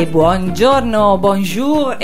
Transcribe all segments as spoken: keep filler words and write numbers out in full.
E buongiorno, bonjour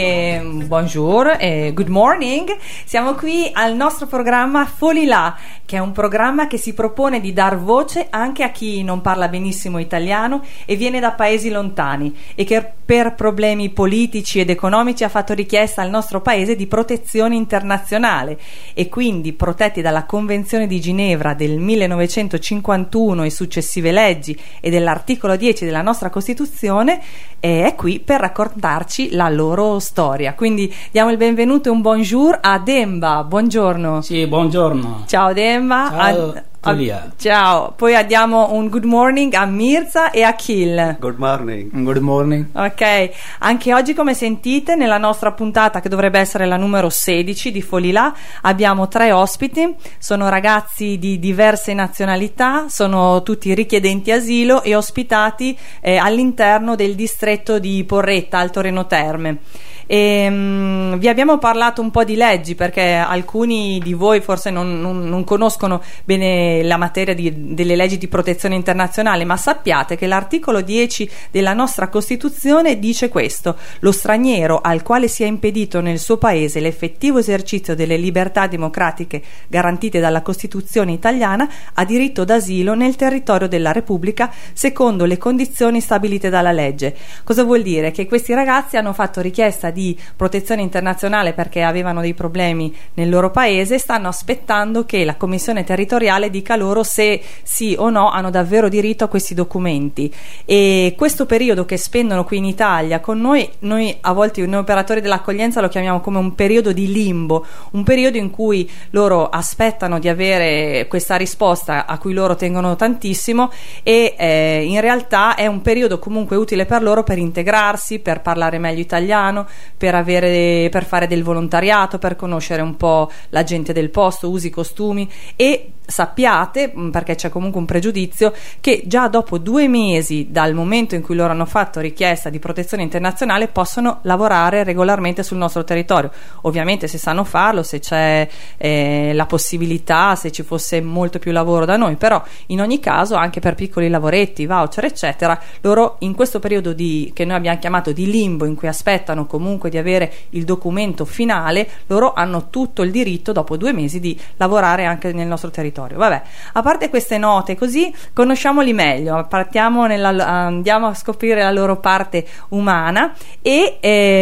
e bonjour e good morning. Siamo qui al nostro programma Folilà, che è un programma che si propone di dar voce anche a chi non parla benissimo italiano e viene da paesi lontani e che per problemi politici ed economici ha fatto richiesta al nostro paese di protezione internazionale e quindi, protetti dalla Convenzione di Ginevra del millenovecentocinquantuno e successive leggi e dell'articolo dieci della nostra Costituzione, e è qui per raccontarci la loro storia. Quindi diamo il benvenuto e un bonjour a Demba. Buongiorno. Sì, buongiorno. Ciao Demba. Ciao, a, a, ciao. Poi diamo un good morning a Mirza e a Akhil. Good morning. Good morning. Ok, anche oggi, come sentite, nella nostra puntata, che dovrebbe essere la numero sedici di Folilà, abbiamo tre ospiti. Sono ragazzi di diverse nazionalità, sono tutti richiedenti asilo e ospitati eh, all'interno del distretto di Porretta, Alto Reno Terme. E, um, vi abbiamo parlato un po' di leggi, perché alcuni di voi forse non, non, non conoscono bene la materia di, delle leggi di protezione internazionale, ma sappiate che l'articolo dieci della nostra Costituzione dice questo: lo straniero al quale sia impedito nel suo paese l'effettivo esercizio delle libertà democratiche garantite dalla Costituzione italiana ha diritto d'asilo nel territorio della Repubblica secondo le condizioni stabilite dalla legge. Cosa vuol dire? Che questi ragazzi hanno fatto richiesta di di protezione internazionale perché avevano dei problemi nel loro paese, stanno aspettando che la commissione territoriale dica loro se sì o no hanno davvero diritto a questi documenti. E questo periodo che spendono qui in Italia con noi, noi a volte noi operatori dell'accoglienza lo chiamiamo come un periodo di limbo, un periodo in cui loro aspettano di avere questa risposta a cui loro tengono tantissimo e eh, in realtà è un periodo comunque utile per loro per integrarsi, per parlare meglio italiano, per avere per fare del volontariato, per conoscere un po' la gente del posto, usi, costumi. E sappiate, perché c'è comunque un pregiudizio, che già dopo due mesi dal momento in cui loro hanno fatto richiesta di protezione internazionale possono lavorare regolarmente sul nostro territorio. Ovviamente se sanno farlo, se c'è eh, la possibilità, se ci fosse molto più lavoro da noi, però in ogni caso anche per piccoli lavoretti, voucher eccetera, loro in questo periodo di, che noi abbiamo chiamato di limbo, in cui aspettano comunque di avere il documento finale, loro hanno tutto il diritto dopo due mesi di lavorare anche nel nostro territorio. Vabbè, a parte queste note, così conosciamoli meglio, partiamo nella, andiamo a scoprire la loro parte umana e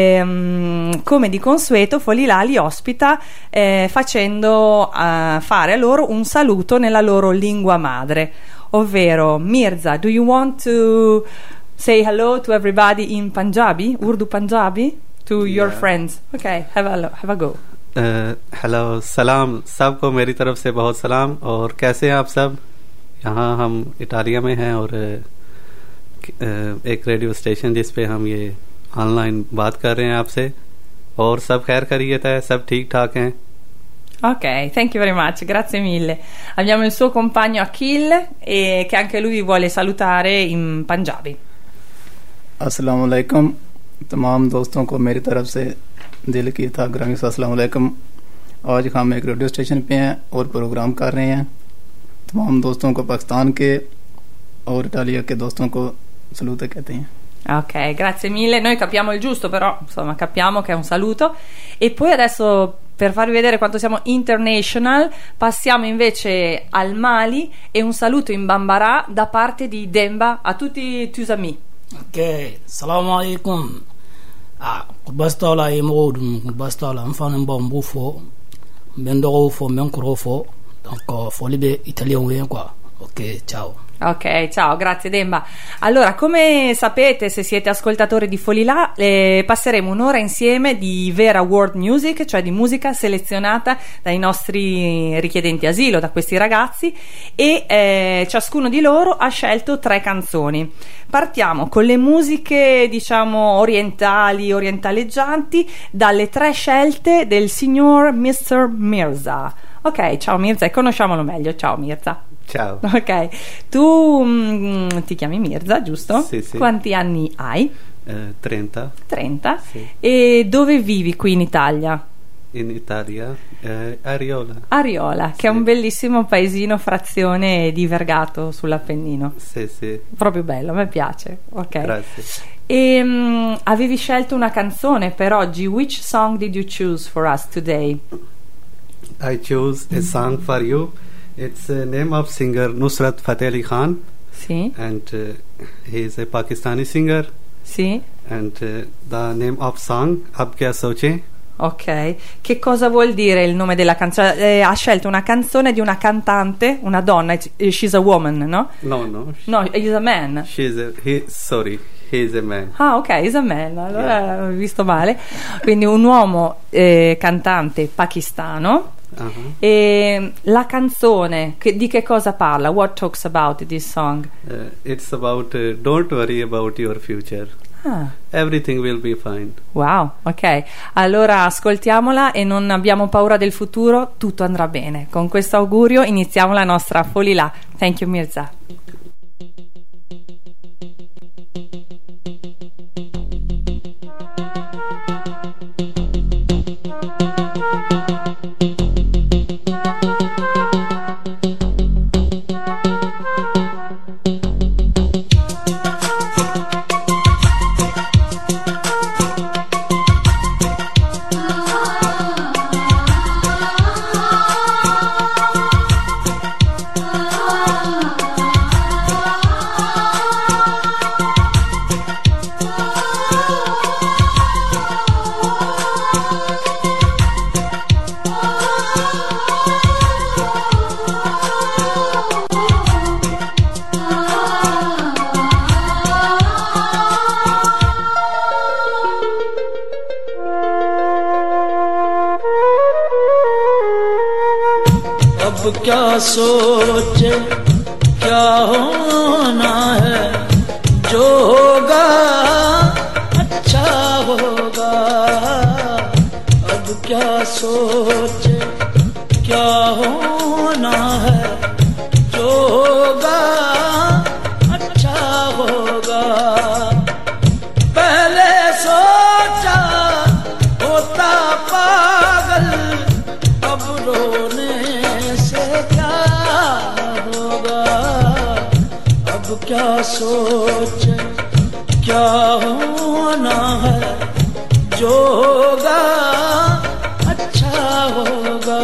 ehm, come di consueto Folilà li ospita eh, facendo eh, fare a loro un saluto nella loro lingua madre, ovvero Mirza, do you want to say hello to everybody in Punjabi, Urdu Punjabi, to yeah. your friends? Okay, have a, have a go. Hello सलाम सबको मेरी तरफ से बहुत सलाम। और कैसे हैं आप सब? यहाँ हम इटालिया में हैं और एक रेडियो स्टेशन जिस पे हम ये ऑनलाइन बात कर रहे हैं आपसे, और सब खैर खैरियत है, सब ठीक ठाक हैं। Ok, thank you very much, grazie mille. Abbiamo il suo compagno Akhil e che anche lui vi vuole salutare in Punjabi. अस्सलाम वालेकुम, तमाम दोस्तों को मेरी तरफ से दिल की था ग्रामी अस्सलाम वालेकुम। आज हम एक रेडियो स्टेशन पे हैं और प्रोग्राम कर रहे हैं। तमाम दोस्तों को पाकिस्तान के और इटालिया के दोस्तों को सलूट कहते हैं। Ok, grazie mille. Noi capiamo il giusto, però insomma capiamo che è un saluto. E poi adesso, per farvi vedere quanto siamo international, passiamo invece al Mali e un saluto in Bambara da parte di Demba a tutti i tuoi amici. Ok, salam alaikum. Ah, bastola e modum, bastola, enfant bon bouffo, bendo fo, mencro fo, donc faut libe italien quoi. Ok, ciao. Ok, ciao, grazie Demba. Allora, come sapete, se siete ascoltatori di Folilà, eh, passeremo un'ora insieme di vera world music, cioè di musica selezionata dai nostri richiedenti asilo, da questi ragazzi, e eh, ciascuno di loro ha scelto tre canzoni. Partiamo con le musiche, diciamo, orientali, orientaleggianti, dalle tre scelte del signor mister Mirza. Ok, ciao Mirza, e conosciamolo meglio. Ciao Mirza. Ciao. Ok, tu mh, ti chiami Mirza, giusto? Sì, sì. Quanti anni hai? Eh, trenta. trenta? Sì. E dove vivi qui in Italia? in Italia, eh, Ariola. Ariola, che sì. è un bellissimo paesino, frazione di Vergato sull'Appennino. Sì, sì. Proprio bello, a me piace. Ok. Grazie. E um, avevi scelto una canzone per oggi. Which song did you choose for us today? I chose a song for you. It's the name of singer Nusrat Fateh Ali Khan. Sì. And uh, he is a Pakistani singer. Sì. And uh, the name of song Ab Kya Soche. Ok, che cosa vuol dire il nome della canzone? Eh, ha scelto una canzone di una cantante, una donna. She's a woman, no? No, no. No, he's a man. She's a he. Sorry, he is a man. Ah, ok, he's a man. Allora ho visto male. Quindi un uomo eh, cantante pakistano. Uh-huh. E la canzone che, di che cosa parla? What talks about this song? Uh, it's about uh, don't worry about your future. Ah. Everything will be fine. Wow, ok. Allora ascoltiamola e non abbiamo paura del futuro, tutto andrà bene. Con questo augurio iniziamo la nostra Folilà. Thank you, Mirza. क्या सोचे क्या होना है जो होगा अच्छा होगा अब क्या सोचे क्या होना है जो होगा अच्छा होगा पहले सोचा होता पागल अब रोने क्या सोचे क्या होना है जो होगा अच्छा होगा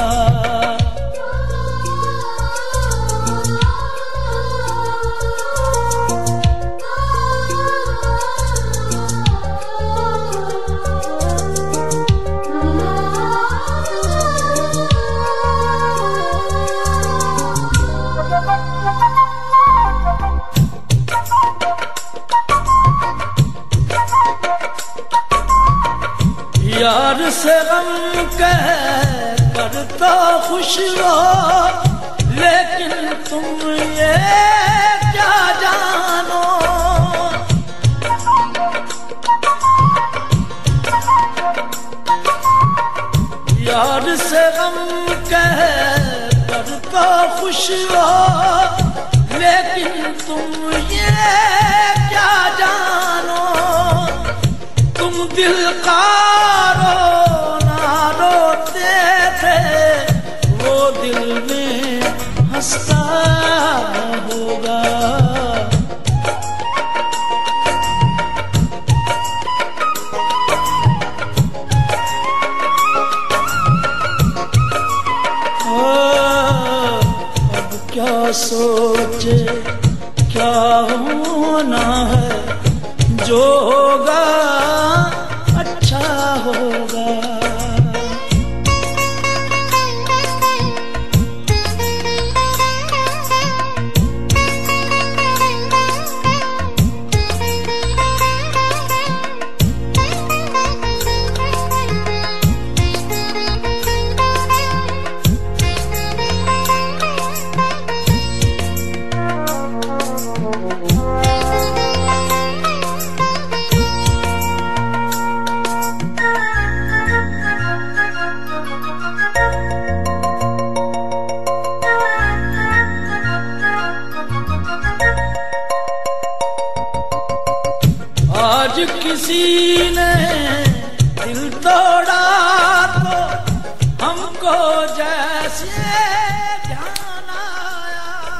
यार से गम कह कर तो खुश रहो लेकिन तुम ये क्या जानो यार से गम कह कर तो खुश रहो लेकिन तुम ये क्या जानो तुम दिल का दिल में हंसता होगा अब क्या सोचे क्या होना है जो होगा अच्छा होगा आज किसी ने दिल तोड़ा तो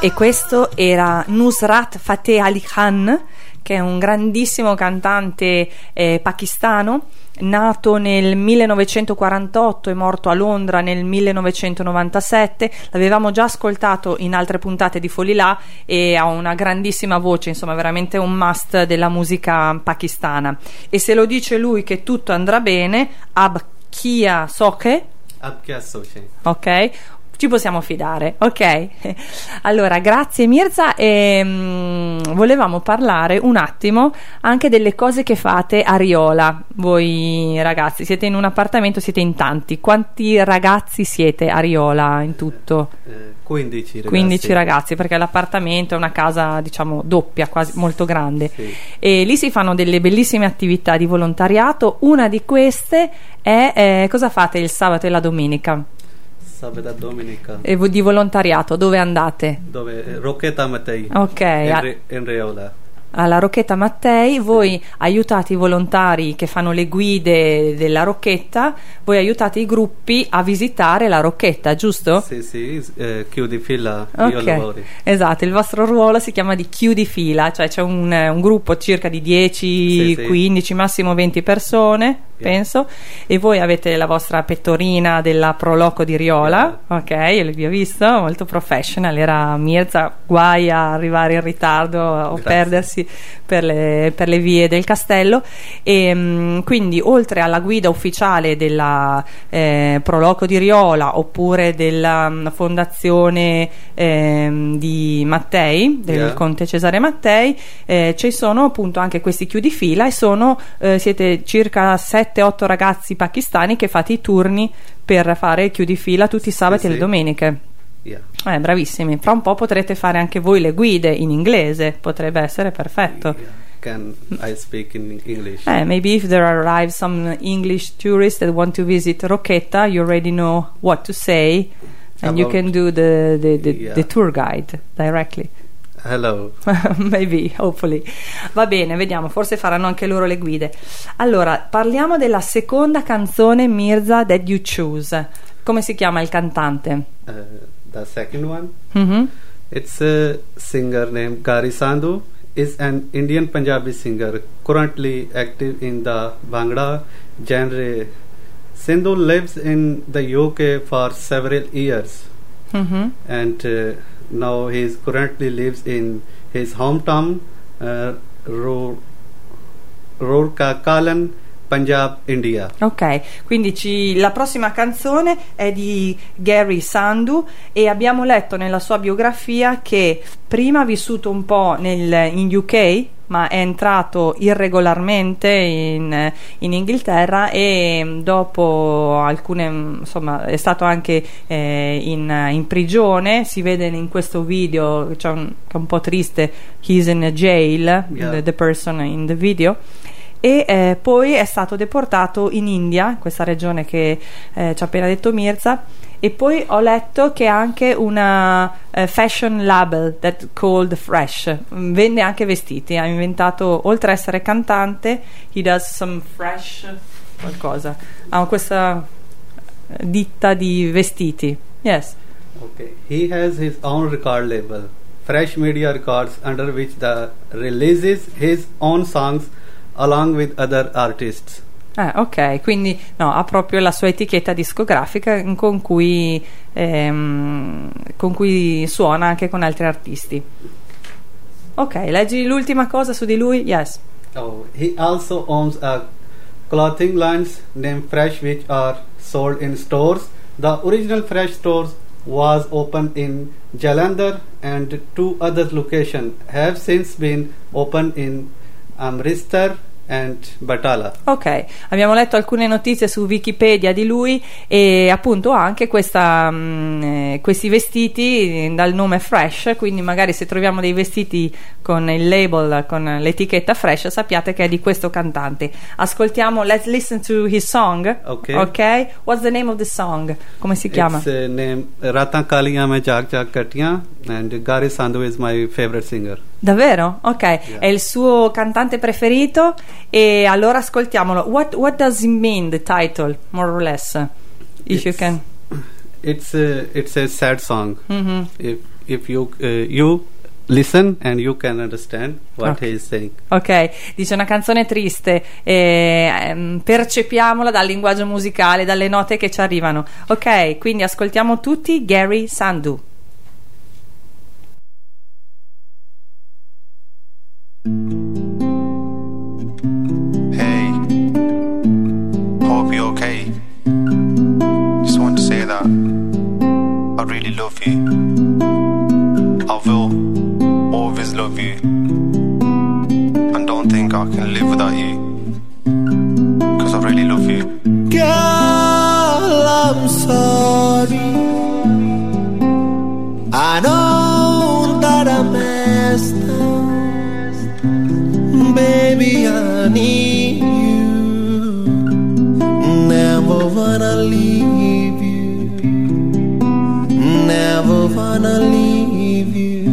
E questo era Nusrat Fateh Ali Khan, che è un grandissimo cantante eh, pakistano, nato nel millenovecentoquarantotto e morto a Londra nel millenovecentonovantasette. L'avevamo già ascoltato in altre puntate di Folilà e ha una grandissima voce, insomma veramente un must della musica pakistana. E se lo dice lui che tutto andrà bene, ab kia soche, ab kya soche, ok, ci possiamo fidare, ok? Allora, grazie Mirza, e mh, volevamo parlare un attimo anche delle cose che fate a Riola. Voi ragazzi siete in un appartamento, siete in tanti. Quanti ragazzi siete a Riola in tutto? Eh, quindici ragazzi. quindici ragazzi, perché l'appartamento è una casa, diciamo, doppia, quasi molto grande. Sì. E lì si fanno delle bellissime attività di volontariato. Una di queste è eh, cosa fate il sabato e la domenica? Sabato e domenica. E di volontariato dove andate? Dove? Rocchetta Mattei. Ok, In, a- Re- in Riola. alla Rocchetta Mattei voi aiutate i volontari che fanno le guide della Rocchetta, voi aiutate i gruppi a visitare la Rocchetta, giusto? Sì, sì, eh, chiudi fila, io Ok, lavoro. esatto, il vostro ruolo si chiama di chiudi fila, cioè c'è un, un gruppo circa di dieci, Sì, sì. quindici, massimo venti persone, Yeah. penso, e voi avete la vostra pettorina della Proloco di Riola, ok, io vi ho visto, molto professional, era Mirza, guai a arrivare in ritardo o Grazie. perdersi per le, per le vie del castello. E mh, quindi oltre alla guida ufficiale della eh, Proloco di Riola oppure della mh, fondazione ehm, di Mattei, del Yeah. conte Cesare Mattei, eh, ci sono appunto anche questi chiudifila e sono eh, siete circa sette otto ragazzi pakistani che fate i turni per fare chiudifila tutti i sabati Sì, e le sì. domeniche. Yeah. Eh, bravissimi. Fra un po' potrete fare anche voi le guide in inglese, potrebbe essere perfetto. Yeah. Can I speak in English? Eh, maybe if there arrive some English tourists that want to visit Rocchetta, you already know what to say and you About- can do the, the, the, Yeah. the tour guide directly. Hello. Maybe, hopefully. Va bene, vediamo, forse faranno anche loro le guide. Allora, parliamo della seconda canzone, Mirza, That You Choose. Come si chiama il cantante? Uh, the second one, Mhm. it's a singer named Gari Sandhu. Is an Indian Punjabi singer currently active in the Bhangra genre. Sandhu lives in the U K for several years, Mhm. and uh, now he is currently lives in his hometown, uh, Ro- Rourkekalan, Punjab, India. Ok, quindi ci- la prossima canzone è di Gary Sandhu e abbiamo letto nella sua biografia che prima ha vissuto un po' nel, in U K, ma è entrato irregolarmente in, in Inghilterra e dopo alcune, insomma, è stato anche eh, in, in prigione. Si vede in questo video, c'è un, che è un po' triste, he's in a jail, Yeah. the, the person in the video. E eh, poi è stato deportato in India, questa regione che eh, ci ha appena detto Mirza, e poi ho letto che ha anche una eh, fashion label that called Fresh. Mm, vende anche vestiti, ha inventato, oltre a essere cantante, he does some fresh qualcosa, ha questa eh, ditta di vestiti. Yes. Okay. He has his own record label, Fresh Media Records, under which the releases his own songs along with other artists. Ah, ok, quindi no, ha proprio la sua etichetta discografica con cui, ehm, con cui suona anche con altri artisti. Ok, leggi l'ultima cosa su di lui? Yes. Oh, he also owns a clothing lines named Fresh, which are sold in stores. The original Fresh stores was opened in Jalandhar, and two other locations have since been opened in Amritsar and Batala. Ok, abbiamo letto alcune notizie su Wikipedia di lui e appunto ha anche questa, mh, eh, questi vestiti dal nome Fresh, quindi magari se troviamo dei vestiti con il label, con l'etichetta Fresh, sappiate che è di questo cantante. Ascoltiamo, let's listen to his song. Ok. Ok, what's the name of the song? Come si chiama? It's uh, named Ratan Kaliyan Mein Jag Jag Katiyan, and Gari Sandhu is my favorite singer. Davvero? Ok, è il suo cantante preferito e allora ascoltiamolo. What, what does it mean, the title, more or less? If you It's- can. it's a, it's a sad song. Mm-hmm. If if you uh, you listen and you can understand what Okay. he is saying. Ok, dice una canzone triste, e, ehm, percepiamola dal linguaggio musicale, dalle note che ci arrivano. Ok, quindi ascoltiamo tutti Gary Sandu. Hey, hope you're okay. Just want to say that I really love you. I will always love you. And don't think I can live without you. Cause I really love you. Girl, I'm sorry. I know that I messed up. Baby, I need you. Never wanna leave you. Never wanna leave you.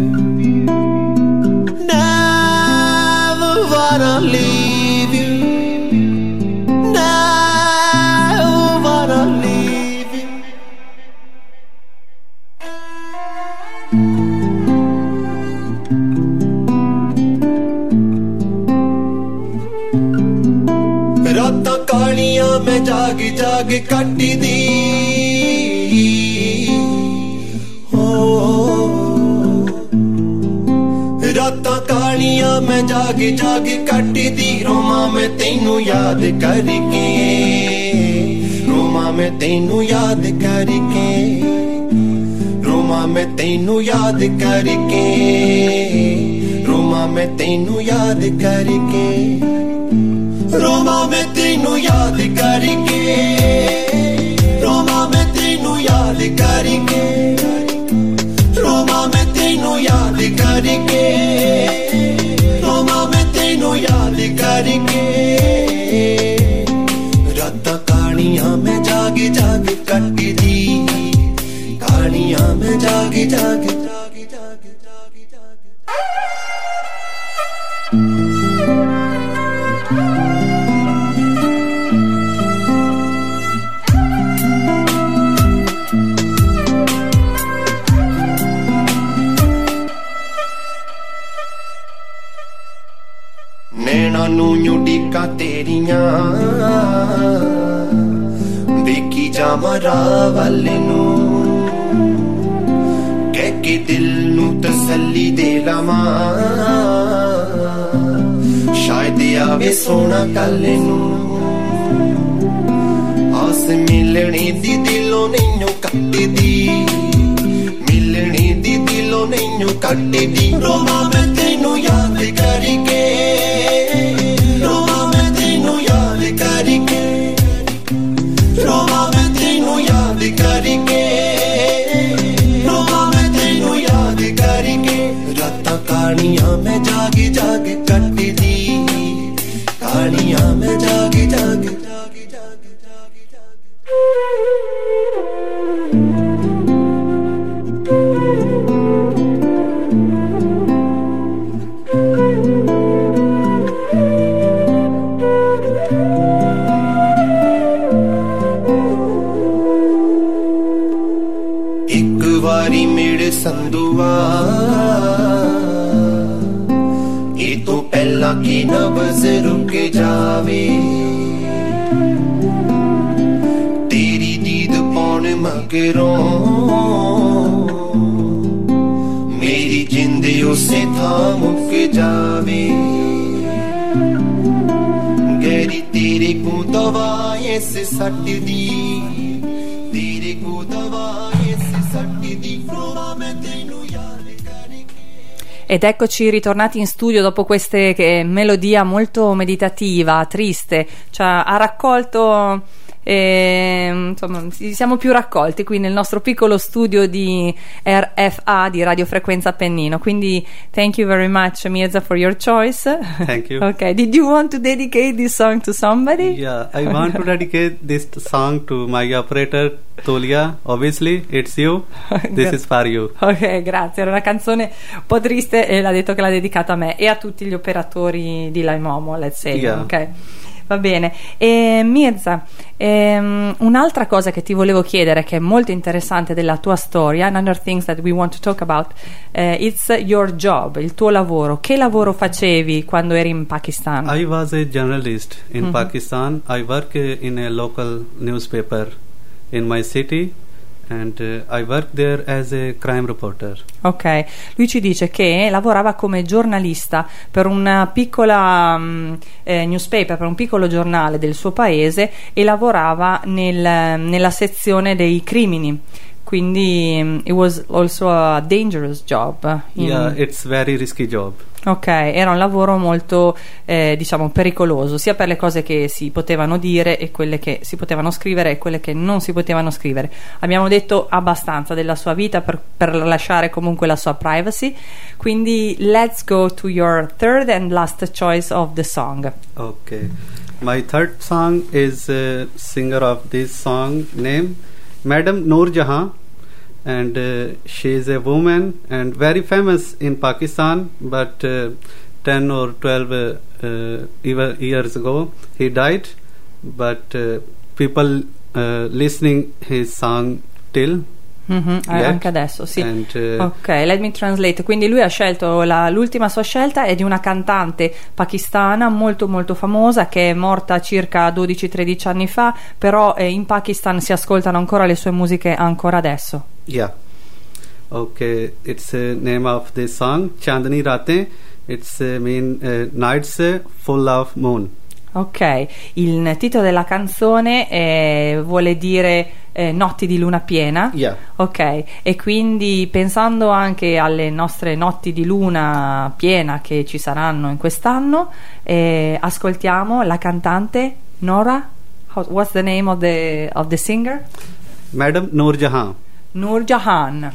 Never wanna leave you. Never wanna leave you. रातां कालियां मैं जाग जाग कट्टी दी हो रातां कालियां मैं जाग जाग कट्टी दी रोमा मैं तैनू याद करके रोमा मैं तैनू याद करके रोमा मैं तैनू याद करके रोमा मैं तैनू याद करके रोमा मैं तेनू याद करके रोमा मैं तेनू याद करके रोमा मैं तेनू याद करके रोमा मैं तेनू याद करके रातां कहानियां मैं जाग जाग कटदी कहानियां मैं जाग जाग जाग जाग जाग जाग नैना नू यूडिका तेरियां देखी जावां राह वाले नू कह के दिल नू तसल्ली दे लवां शायद आवे सोना कल नू आस मिलने दी दिलों नहीं कटदी मिलने दी दिलों नहीं कटदी रोमा मैं तेनू याद करके रोमा मैं तेनू याद करके रोमा मैं तेनू याद करके रोमा मैं तेनू याद करके रातां कहानियां मैं जाग जाग कटदी कहानियां मैं जाग जाग जाग जाग जाग जाग एक वारी मेरे संदुआ ये तो पहला की नब्ज़ रुक जावे तेरी दीद पौन मगरों मेरी जिंद उसे था मुक जावे गहरी तेरे को दवाएं से सट दी तेरे को दवाएं से सट दी रोमा मैं तेनू याद करके. Ed eccoci ritornati in studio dopo queste che, melodia molto meditativa, triste, cioè ha raccolto, eh, insomma, siamo più raccolti qui nel nostro piccolo studio di R F A, di radiofrequenza Appennino, quindi thank you very much Mirza for your choice. Thank you. Okay, did you want to dedicate this song to somebody? Yeah, I want to dedicate this song to my operator Tolia. Obviously it's you, this is for you. Ok, grazie, era una canzone un po' triste e l'ha detto che l'ha dedicata a me e a tutti gli operatori di Laimomo, let's say. Yeah. Ok, Va bene. E Mirza, ehm, un'altra cosa che ti volevo chiedere, che è molto interessante della tua storia, another things that we want to talk about, uh, it's your job, il tuo lavoro. Che lavoro facevi quando eri in Pakistan? I was a journalist in Mhm. Pakistan. I work uh, in a local newspaper in my city, and uh, I work there as a crime reporter. Ok, lui ci dice che lavorava come giornalista per una piccola um, eh, newspaper, per un piccolo giornale del suo paese, e lavorava nel, nella sezione dei crimini. Quindi um, it was also a dangerous job. in- Yeah, it's very risky job. Ok, era un lavoro molto eh, diciamo pericoloso, sia per le cose che si potevano dire e quelle che si potevano scrivere e quelle che non si potevano scrivere. Abbiamo detto abbastanza della sua vita per, per lasciare comunque la sua privacy, quindi let's go to your third and last choice of the song. Okay. My third song is uh, singer of this song name Madam Noor Jahan, and uh, she is a woman and very famous in Pakistan, but uh, ten or twelve uh, uh, eva- years ago he died, but uh, people uh, listening his song till Mhm, eh, yet. anche adesso, sì. And uh, Ok, let me translate. Quindi lui ha scelto la- l'ultima sua scelta è di una cantante pakistana molto molto famosa che è morta circa dodici tredici anni fa, però eh, in Pakistan si ascoltano ancora le sue musiche ancora adesso. yeah. Okay, it's the name of the song Chandni Ratein. It's uh, mean uh, nights uh, full of moon. Ok, il titolo della canzone eh, vuole dire eh, notti di luna piena. Yeah. Ok, e quindi pensando anche alle nostre notti di luna piena che ci saranno in quest'anno, eh, ascoltiamo la cantante Nora. How- what's the name of the, of the singer? Madam Noor Jahan. Noor Jahan.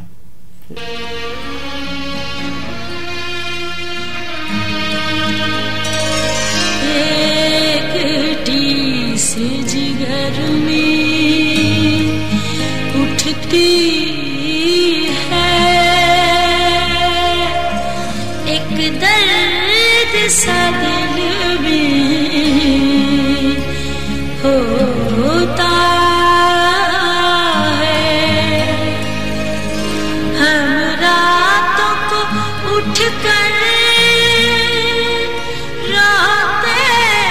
एकटी से जिगर में उठती है एक दर्द सा दिल में होता है हम रातों को उठ कर रोते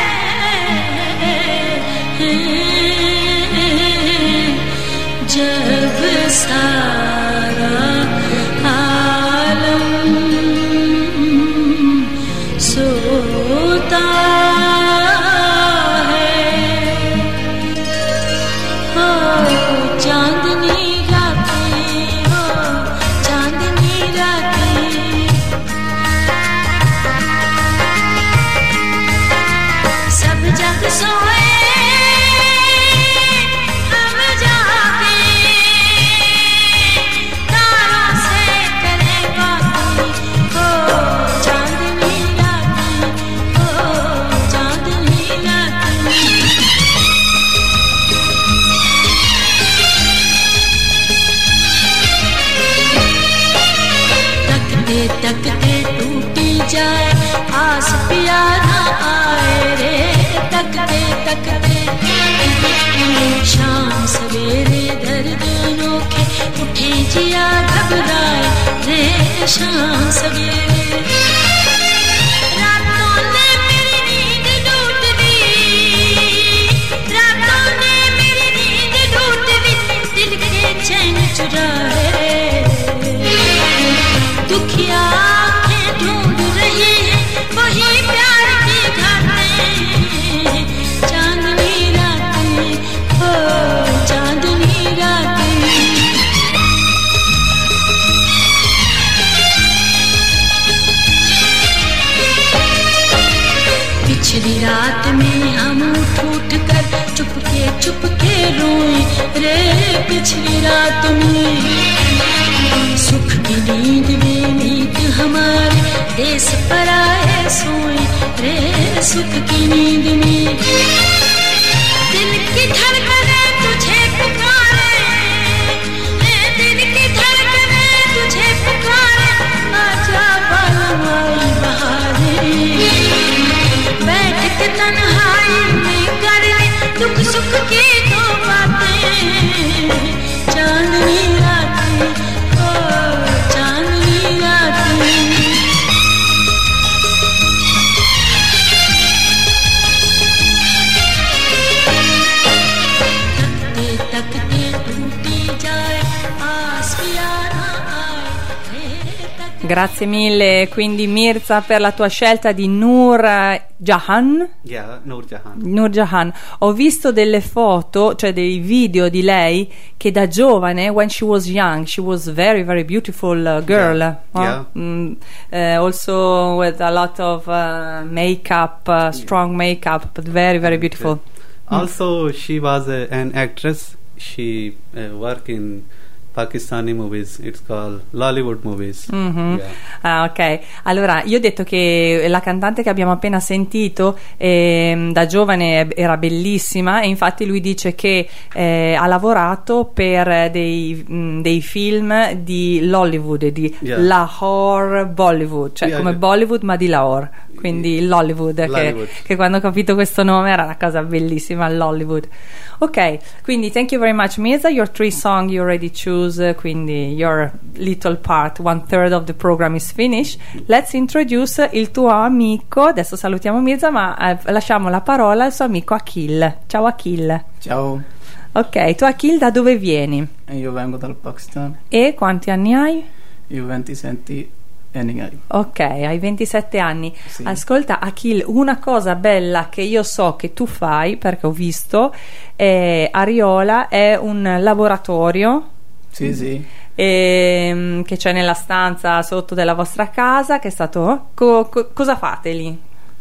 हैं जब सारा आलम सोता है हो चांदनी रातें हो चांदनी रातें सब जग सोए हम जागे तारों से करें बातें हो चांदनी रातें हो चांदनी रातें तकते तकते टूटी जाए आस प्यारा आए रे तकते तकते शाम सवेरे दर्द अनोखे उठे जिया घबराए रे शाम सवेरे रातों ने मेरी नींद लूट दी रातों ने मेरी नींद लूट दी दिल के चैन चुराए दुखिया आंखें ढूंढ रही है वही प्यार की घाटें चांदनी रातें हो चांदनी रातें पिछली रात में हम उठ उठ कर चुपके चुपके रोए रे पिछली रात में सुख की नींद में नींद हमारे देश पर आए सोए रे सुख की नींद में दिल की धड़कने तुझे पुकारे रे दिल की धड़कने तुझे पुकारे आजा बालमाई बहारे बैठ के तन्हाई में Grazie mille, quindi Mirza, per la tua scelta di Noor Jahan. Yeah, Noor Jahan. Noor Jahan. Ho visto delle foto, cioè dei video di lei che da giovane, when she was young, she was very very beautiful uh, girl. Yeah. Huh? Yeah. Mm, uh, also with a lot of uh, makeup, uh, strong makeup, but very very beautiful. Also, she was uh, an actress. She uh, worked in Pakistani movies. It's called Lollywood movies. Mhm. Yeah. Ah, ok. Allora, io ho detto che la cantante che abbiamo appena sentito ehm, da giovane era bellissima, e infatti lui dice che eh, ha lavorato per dei, mh, dei film di Lollywood, di Yeah. Lahore Bollywood, cioè Yeah, come yeah. Bollywood ma di Lahore, quindi Lollywood, che, Lollywood. che quando ho capito questo nome era una cosa bellissima, Lollywood. Ok, quindi thank you very much Mirza, your three song you already choose, quindi your little part, one third of the program is finished. Let's introduce il tuo amico, adesso salutiamo Mirza, ma eh, lasciamo la parola al suo amico Akhil. Ciao Akhil. Ciao, Ok, tu Akhil da dove vieni? io vengo dal Pakistan, E quanti anni hai? io ventisette anni ho. Ok, hai ventisette anni. Sì. Ascolta Akhil, una cosa bella che io so che tu fai, perché ho visto, è Ariola è un laboratorio Sì, sì, ehm, che c'è nella stanza sotto della vostra casa, che è stato... co- co- cosa fate lì?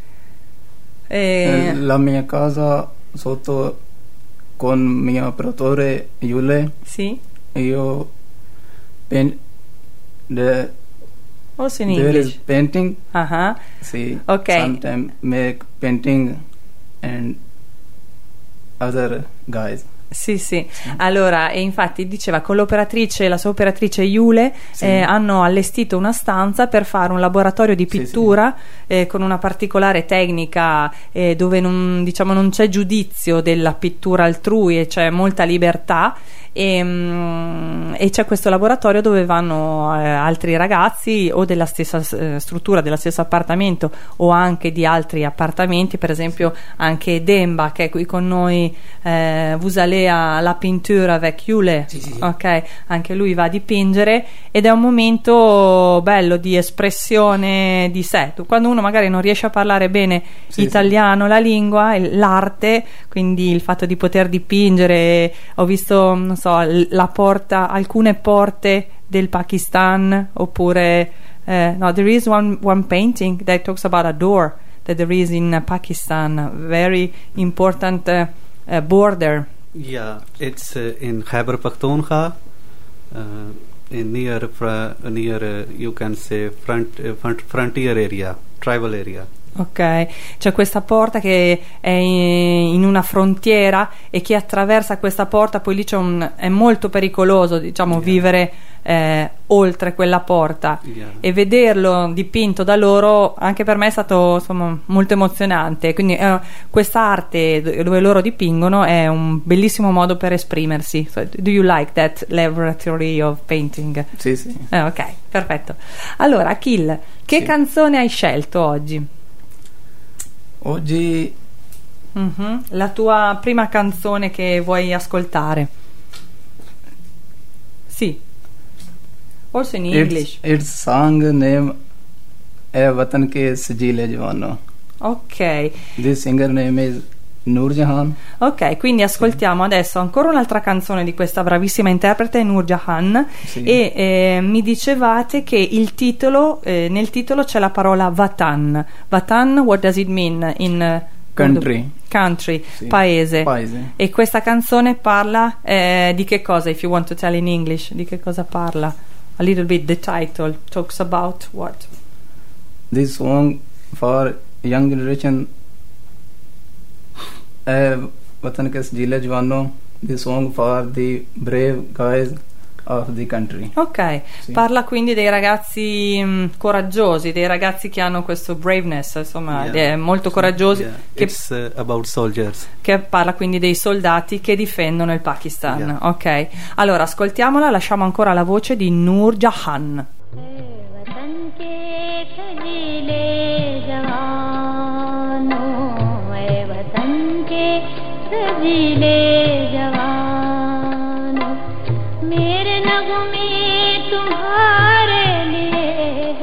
Eh, Eh, la mia casa sotto con mio operatore Yule, sì? io pen, the, Also in there is English. painting, Ah, see, Ok. sometimes make painting and other guys. sì, sì. Allora, e infatti diceva con l'operatrice, la sua operatrice Yule, Sì. eh, hanno allestito una stanza per fare un laboratorio di Sì, pittura eh, con una particolare tecnica eh, dove non, diciamo, non c'è giudizio della pittura altrui e c'è molta libertà. E, mm, e c'è questo laboratorio dove vanno eh, altri ragazzi o della stessa eh, struttura, dello stesso appartamento o anche di altri appartamenti, per esempio anche Demba che è qui con noi, eh, vous allez à la peinture avec Yule, Sì, sì, sì. ok, anche lui va a dipingere ed è un momento bello di espressione di sé. Tu- quando uno magari non riesce a parlare bene Sì, italiano, la lingua, il- l'arte, quindi il fatto di poter dipingere, ho visto, non so, l- la porta, alcune porte del Pakistan, oppure eh, no, there is one, one painting that talks about a door that there is in Pakistan, very important uh, uh, border. Yeah, it's uh, in Khyber Pakhtunkhwa, uh, in near fra- near uh, you can say front, uh, front frontier area, tribal area. Ok, c'è questa porta che è in in una frontiera e chi attraversa questa porta poi lì c'è un, è molto pericoloso, diciamo, Yeah. vivere eh, oltre quella porta, Yeah. e vederlo dipinto da loro anche per me è stato, insomma, molto emozionante. Quindi eh, questa arte do- dove loro dipingono è un bellissimo modo per esprimersi. So, do you like that laboratory of painting? Sì, sì. Eh, ok, perfetto. Allora Akhil, che Sì. canzone hai scelto oggi? Oggi Mhm. La tua prima canzone che vuoi ascoltare? Sì. Also in English. It's, its song name है वतन के सजीले जवानों. Ok. This singer name is Noor Jahan. Ok, quindi ascoltiamo adesso ancora un'altra canzone di questa bravissima interprete Noor Jahan. Sì. E eh, mi dicevate che il titolo, eh, nel titolo c'è la parola Vatan. Vatan, what does it mean in eh, Country. Country, Sì. paese. Paese. E questa canzone parla eh, di che cosa? If you want to tell in English, di che cosa parla? A little bit, the title talks about what? This song for young generation है वतन के सजीले जवानों. This song for the brave guys of the country. Ok, Sì. parla quindi dei ragazzi mh, coraggiosi, dei ragazzi che hanno questo braveness, insomma, Yeah. eh, molto coraggiosi, Yeah. che, It's uh, about soldiers. che parla quindi dei soldati che difendono il Pakistan. Yeah. Ok, allora ascoltiamola, lasciamo ancora la voce di Noor Jahan. वतन के खजीले जवानों, ऐ वतन के सजीले जवानों, मेरे नगमे तुम्हारे लिए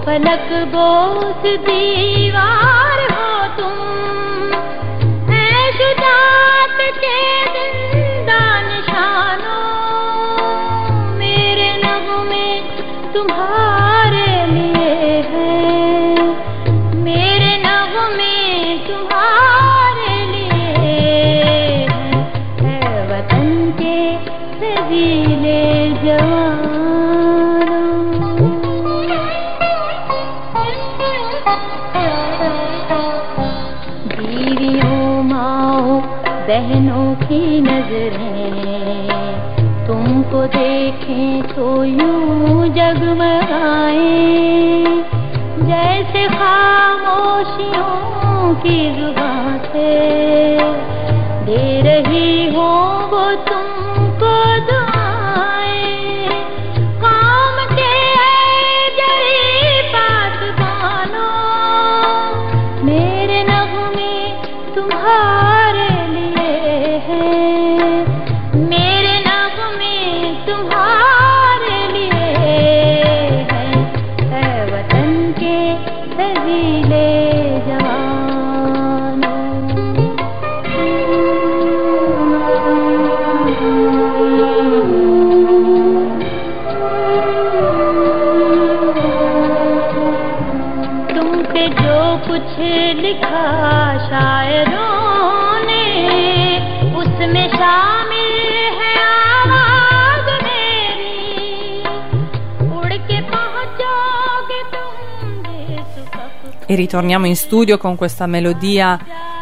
फलक बोस दीवार हो तुम, है शुजात के जिंदा निशानों, मेरे नगमे तुम्हारे लिए है, मेरे नगमे तुम्हारे लिए है, है वतन के रजीले जवानों। बीवियों माओ बहनों की नजरें तुमको देखें तो यूं जगमगाए, जैसे खामोशियों की जुबां से दे रही हो वो तुमको दुआएं। काम के जरी बात मानो, मेरे नगमे तुम्हारे लिए है, मेरे नगमे तुम्हारे लिए है, है वतन के रजीले जवानों। तुम पे जो कुछ लिखा शायरों ने, उसमें शामिल है आवाज मेरी, उड़ के पहुंचोगे तुम जिस वक्त। E ritorniamo in studio con questa melodia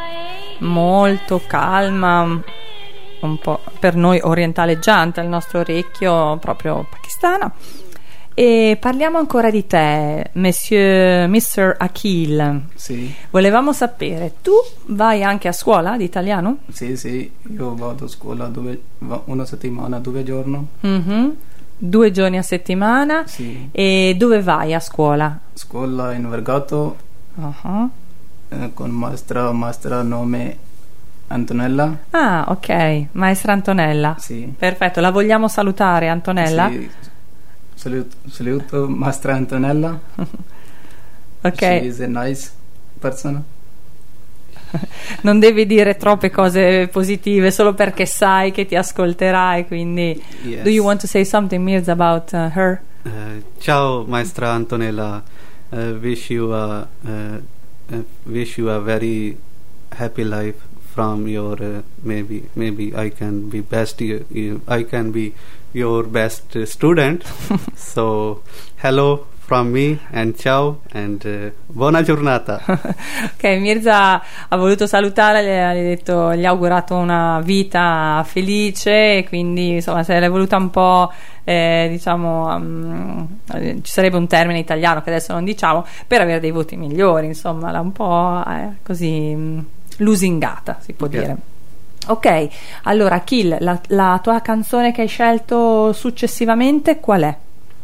molto calma, un po' per noi orientaleggiante, al nostro orecchio proprio pakistana. E parliamo ancora di te, Monsieur mister Akhil. Sì, Volevamo sapere, tu vai anche a scuola di italiano? sì, sì, io vado a scuola due, va- una settimana, due giorni. Mhm. Due giorni a settimana. Sì, E dove vai a scuola? scuola in Vergato Uh-huh. eh, con maestra, maestra nome Antonella. Ah, ok, maestra Antonella. Sì. Perfetto, la vogliamo salutare, Antonella? Sì, saluto, saluto maestra Antonella. Ok, She is a nice person. non devi dire troppe cose positive solo perché sai che ti ascolterai, quindi Yes. do you want to say something, Mirza, about uh, her? Uh, ciao maestra Antonella, uh, wish you a uh, uh, wish you a very happy life from your uh, maybe maybe I can be best you, you, I can be your best uh, student. So hello from me and ciao and uh, buona giornata. Ok, Mirza ha voluto salutare, le ha detto, gli ha augurato una vita felice, e quindi insomma se l'è voluta un po' eh, diciamo um, eh, ci sarebbe un termine italiano che adesso non diciamo, per avere dei voti migliori, insomma l'ha un po' eh, così um, lusingata, si può Ok. dire. Ok, allora Kill, la, la tua canzone che hai scelto successivamente qual è?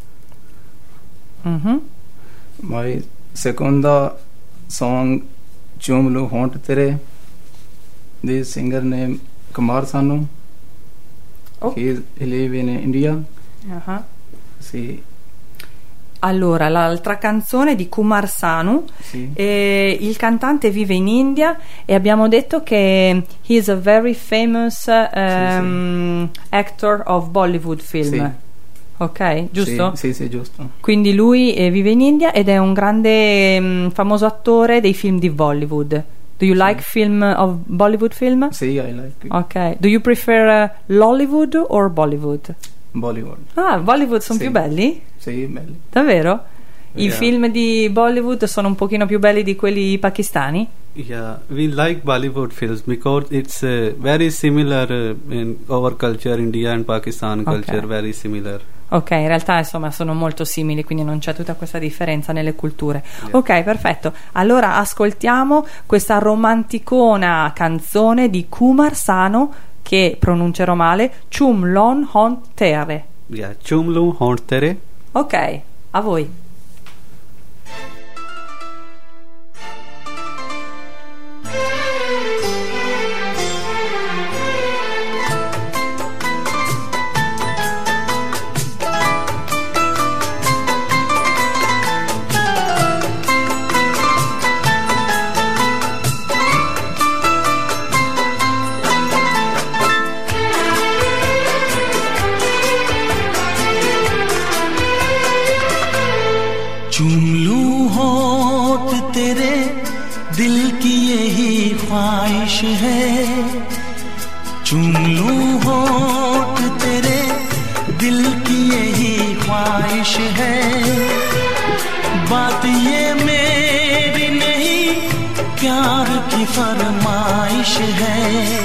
Mhm. My seconda song Chumlu Hont Tere. The singer name Kumar Sanu. Oh. He, is, he live in India. Ah. Sì, Allora, l'altra canzone di Kumar Sanu, sì. eh, il cantante vive in India e abbiamo detto che he is a very famous um, actor of Bollywood film. Sì. Ok, giusto? Sì, sì, sì, giusto. Quindi lui eh, vive in India ed è un grande mm, famoso attore dei film di Bollywood. Do you like film of Bollywood film? Sì, I like it. Ok. Do you prefer uh, Lollywood or Bollywood? Bollywood. Ah, Bollywood sono Sì. più belli? Sì, belli. Davvero? I Yeah. film di Bollywood sono un pochino più belli di quelli pakistani? Yeah, we like Bollywood films because it's uh, very similar uh, in our culture, India and Pakistan culture, Okay. very similar. Ok, in realtà insomma sono molto simili, quindi non c'è tutta questa differenza nelle culture. Yeah. Ok, perfetto. Allora ascoltiamo questa romanticona canzone di Kumar Sanu, che pronuncerò male, Chum Lon Hon Tere. Yeah, Chumlu Hont Tere. Ok, a voi. की यही ख्वाहिश है, चूम लूं होठ तेरे, दिल की यही ख्वाहिश है। बात ये मेरी नहीं, प्यार की फरमाइश है।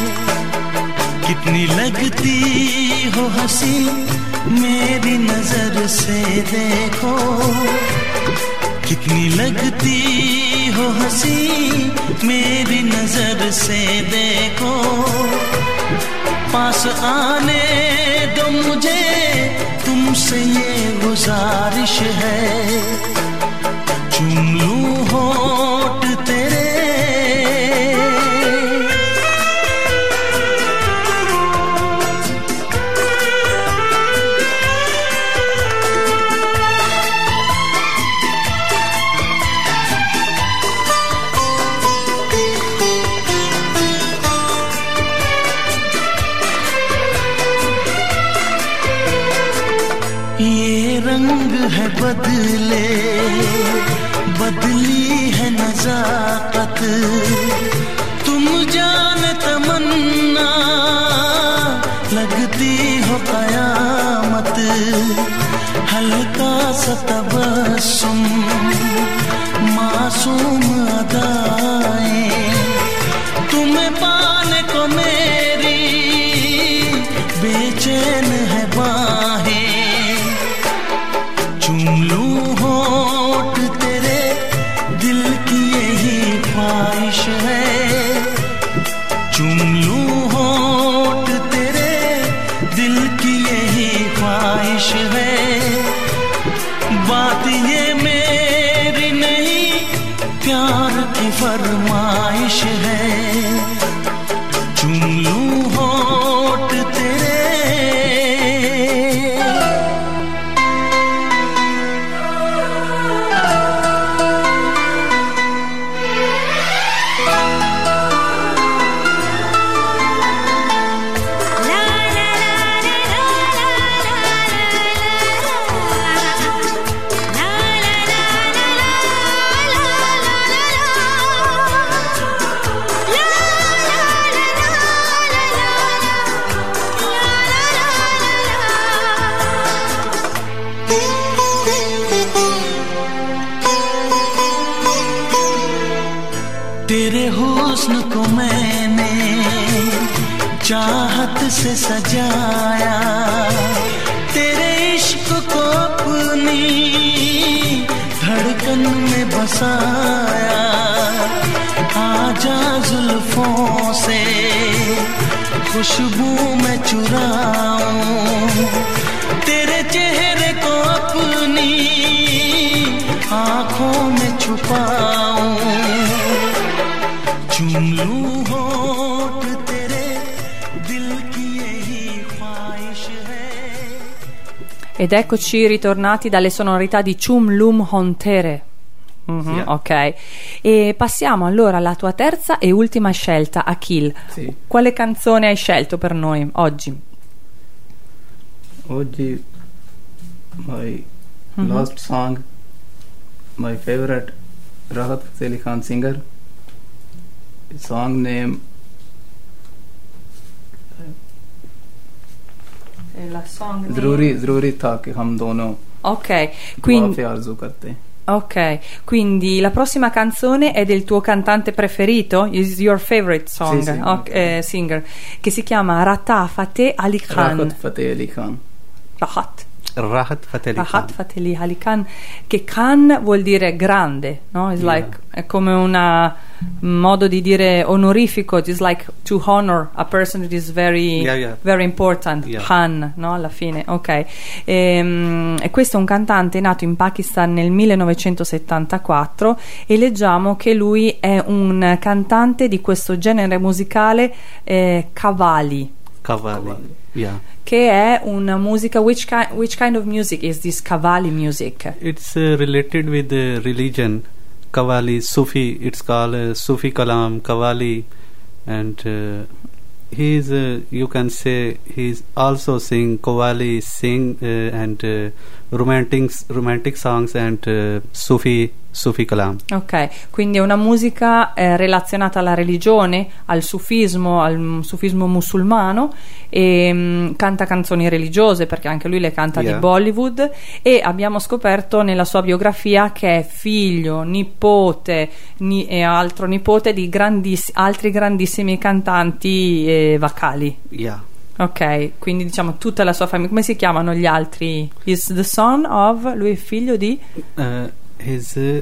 कितनी लगती हो हंसी मेरी नजर से देखो, कितनी लगती हो हंसी मेरी नजर से देखो। पास आने दो मुझे, तुमसे ये गुजारिश है, चूम लूं होठ तेरे। रंग है बदले, बदली है नजाकत, तुम जान तमन्ना लगती हो कयामत। हल्का सा तबस्सुम मासूम अदाएं, तुम्हें पाने को मेरी बेचैन है बाहें। चूम लूं होठ तेरे, दिल की यही ख्वाहिश है, चूम लूं होठ तेरे, दिल की यही ख्वाहिश है। बात ये मेरी नहीं, प्यार की फरमाइश है, चूम लूं होठ तेरे। तेरे हुस्न को मैंने चाहत से सजाया, तेरे इश्क को अपनी धड़कन में बसाया। आजा जुल्फों से खुशबू में चुराऊं, तेरे चेहरे को अपनी आँखों में छुपाऊं। चूम लूं होठ तेरे, दिल की यही ख्वाहिश है। Ed eccoci ritornati dalle sonorità di Chum Lum Hontere. Mm-hmm, Sì. Ok, e passiamo allora alla tua terza e ultima scelta, Akhil. Sì. Quale canzone hai scelto per noi oggi? Oggi my Mhm. last song, my favorite Rahat Fateh Ali Khan singer. Song name E la song name? जरूरी जरूरी था कि हम दोनों Ok, दुआ quindi, पे आरज़ू करते हैं. ok, quindi la prossima canzone è del tuo cantante preferito? Is your favorite song? Sì, sì, Ok, ok. eh, singer, che si chiama Rahat Fateh Ali Khan. Rahat Fateh Ali Khan. Rahat. राहत फतेह अली Rahat Khan. Fateh Ali Khan, che Khan vuol dire grande, no? It's Yeah. like, è come una- un modo di dire onorifico, it's like to honor a person that is very, Yeah, yeah. very important, Yeah. Khan, no? Alla fine, ok. Ehm, E, questo è un cantante nato in Pakistan nel millenovecentosettantaquattro e leggiamo che lui è un cantante di questo genere musicale eh, Qawwali, qawwali. Yeah. che è una musica, which, ki- which kind of music is this Qawwali music? It's uh, related with uh, religion. Qawwali, Sufi. It's called uh, Sufi Kalam, Qawwali, and uh, he is. Uh, you can say he's also sing Qawwali, sing uh, and uh, romantic romantic songs and uh, Sufi Sufi kalam. Ok, quindi è una musica eh, relazionata alla religione, al sufismo, al sufismo musulmano, e mh, canta canzoni religiose perché anche lui le canta Yeah. di Bollywood, e abbiamo scoperto nella sua biografia che è figlio, nipote ni- e altro nipote di grandiss- altri grandissimi cantanti eh, vocali. Yeah. Ok, quindi diciamo tutta la sua famiglia. Come si chiamano gli altri? Is the son of, lui è figlio di? Uh, his uh,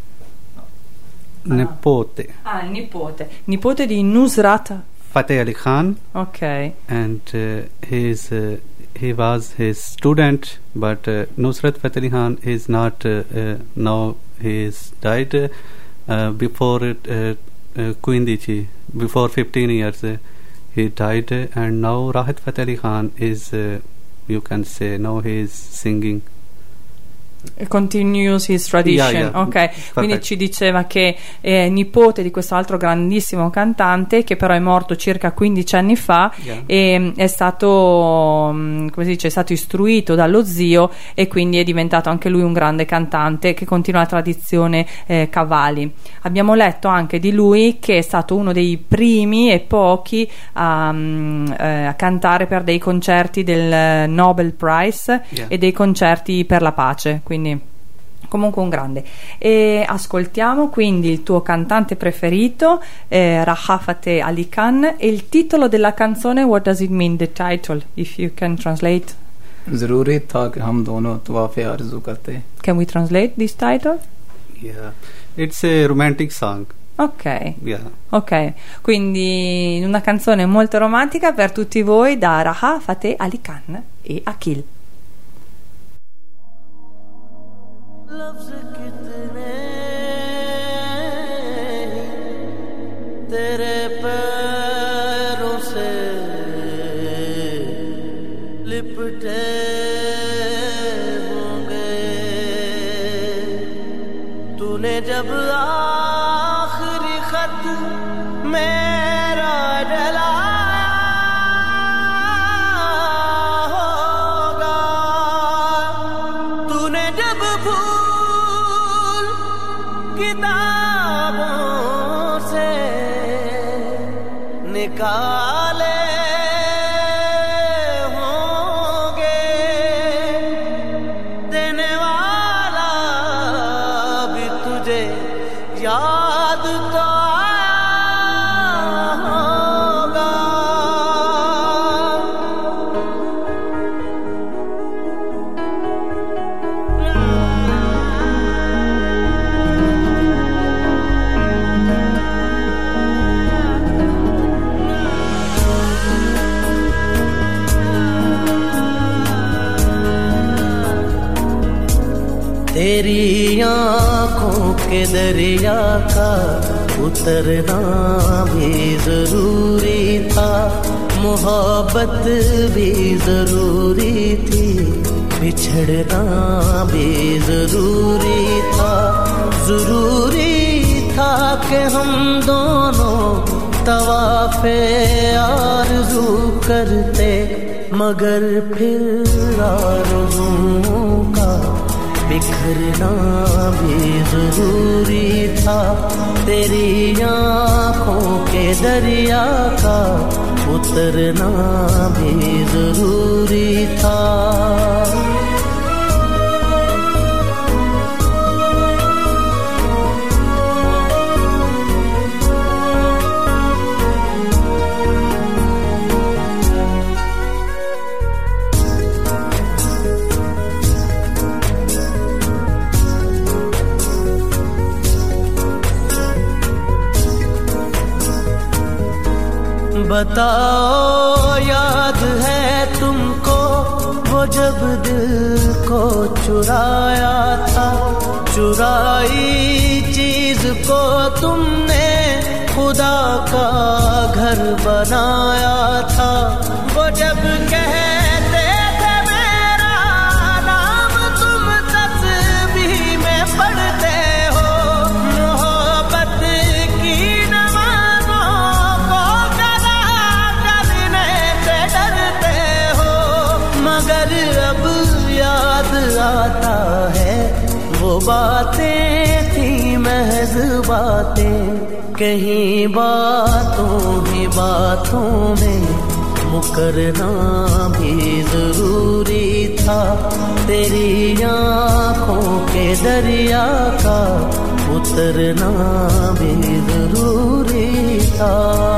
nepote Ah, il nipote. Nipote di Nusrat. Fateh Ali Khan, Ok. and uh, his uh, he was his student, but uh, Nusrat Fateh Ali Khan is not uh, uh, now he is died uh, uh, before it, uh, uh, Queen Dichi, before fifteen years uh, he died, uh, and now Rahat Fateh Ali Khan is uh, you can say now he is singing. Continues his tradition. Yeah, yeah. Ok, quindi Perfect. ci diceva che è nipote di questo altro grandissimo cantante che però è morto circa quindici anni fa. Yeah. E è stato, mm, come si dice, è stato istruito dallo zio e quindi è diventato anche lui un grande cantante che continua la tradizione eh, Qawwali. Abbiamo letto anche di lui che è stato uno dei primi e pochi a, mm, eh, a cantare per dei concerti del Nobel Prize Yeah. e dei concerti per la pace, quindi comunque un grande. E ascoltiamo quindi il tuo cantante preferito, eh, Rahat Fateh Ali Khan, e il titolo della canzone. What does it mean, the title, if you can translate? जरूरी था कि हम दोनों तवाफ़े आरज़ू करते. Can we translate this title? Yeah, it's a romantic song. Ok, Yeah. ok, quindi una canzone molto romantica per tutti voi da Rahat Fateh Ali Khan e Akhil. लफ्ज़ कितने तेरे पैरों से लिपटे होंगे, तूने जब आखिरी खत मेरा डलाया होगा, तूने जब भूल किताबों से निकाले होंगे, देने वाला भी तुझे याद तो आया होगा। तेरी आँखों के दरिया का उतरना भी जरूरी था, मोहब्बत भी जरूरी थी, बिछड़ना भी जरूरी था, जरूरी था कि हम दोनों तवाफ़े आरज़ू करते, मगर फिर आरज़ुओं का बिखरना भी जरूरी था, तेरी आँखों के दरिया का उतरना भी जरूरी था। बताओ याद है तुमको वो जब दिल को चुराया था, चुराई चीज को तुमने खुदा का घर बनाया था, वो जब कहते थे मेरा नाम तुम तस्बीह में पढ़ते हो, मोहब्बत की नमाज़ों को कदा करने से डरते हो, मगर अब याद बातें कहीं बातों ही बातों में मुकरना भी जरूरी था। तेरी आँखों के दरिया का उतरना भी जरूरी था।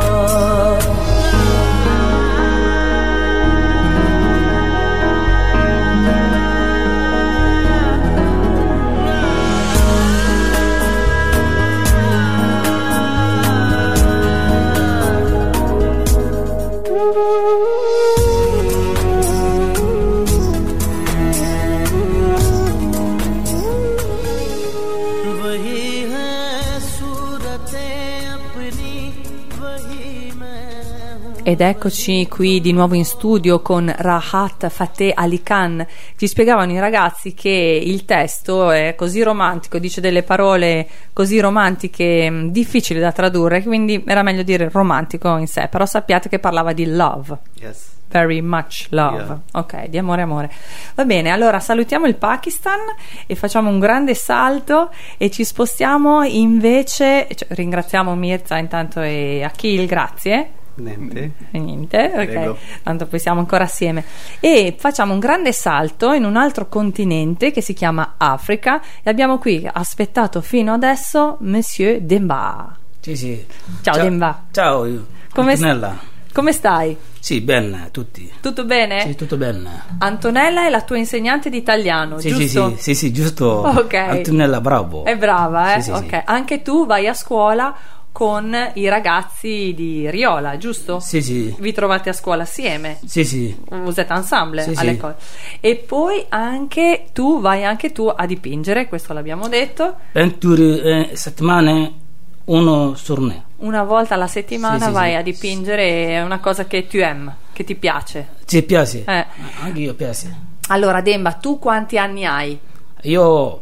Ed eccoci qui di nuovo in studio con Rahat Fateh Ali Khan. Ci spiegavano i ragazzi che il testo è così romantico, dice delle parole così romantiche, difficili da tradurre, quindi era meglio dire romantico in sé, però sappiate che parlava di love. Yes. Very much love. Yeah. Ok, di amore amore. Va bene, allora salutiamo il Pakistan e facciamo un grande salto e ci spostiamo invece, cioè, ringraziamo Mirza intanto e Akhil, grazie. Niente. Niente, ok. Prego. Tanto poi siamo ancora assieme. E facciamo un grande salto in un altro continente che si chiama Africa e abbiamo qui aspettato fino adesso Monsieur Demba. Sì, sì. Ciao, ciao Demba. Ciao, come, Antonella. Come stai? Sì, bene, tutti. Tutto bene? Sì, tutto bene. Antonella è la tua insegnante di italiano, sì, giusto? Sì, sì, sì, giusto. Ok. Antonella, bravo. È brava, eh? Sì, sì, ok. Sì. Anche tu vai a scuola con i ragazzi di Riola, giusto? Sì, sì. Vi trovate a scuola assieme? Sì, sì. Vous êtes ensemble sì, all'école. Sì. E poi anche tu vai anche tu a dipingere, questo l'abbiamo detto. Venture eh, settimane, uno giorno. Una volta alla settimana sì, sì, vai sì. a dipingere, è una cosa che tu aimes, che ti piace. Ci piace. Eh. Anche io piace. Allora, Demba, tu quanti anni hai? Io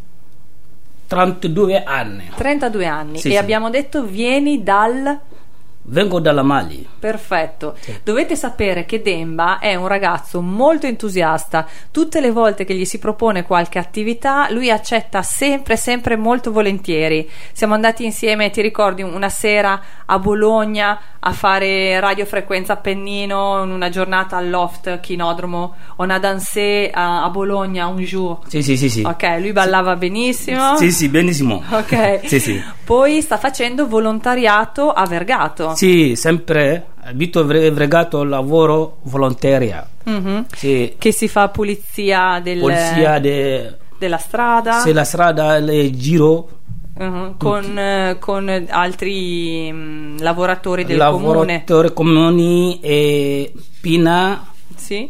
trentadue anni. trentadue anni. Sì, e sì. abbiamo detto vieni dal... Vengo dalla Mali. Perfetto. Sì. Dovete sapere che Demba è un ragazzo molto entusiasta. Tutte le volte che gli si propone qualche attività, lui accetta sempre, sempre molto volentieri. Siamo andati insieme, ti ricordi, una sera a Bologna a fare radiofrequenza Appennino in una giornata al Loft Chinodromo. On a dansé a, a Bologna un jour. Sì, sì, sì, sì. Ok, lui ballava sì. benissimo. Sì, sì, benissimo. Ok. Sì, sì. Poi sta facendo volontariato a Vergato. Sì, sempre abito Vergato, lavoro volontaria. Mm-hmm. Sì. Che si fa pulizia del, Polizia de, della strada. Se la strada le giro. Uh-huh. Con, eh, con altri mh, lavoratori del lavoratori comune. comuni e Pina, sì.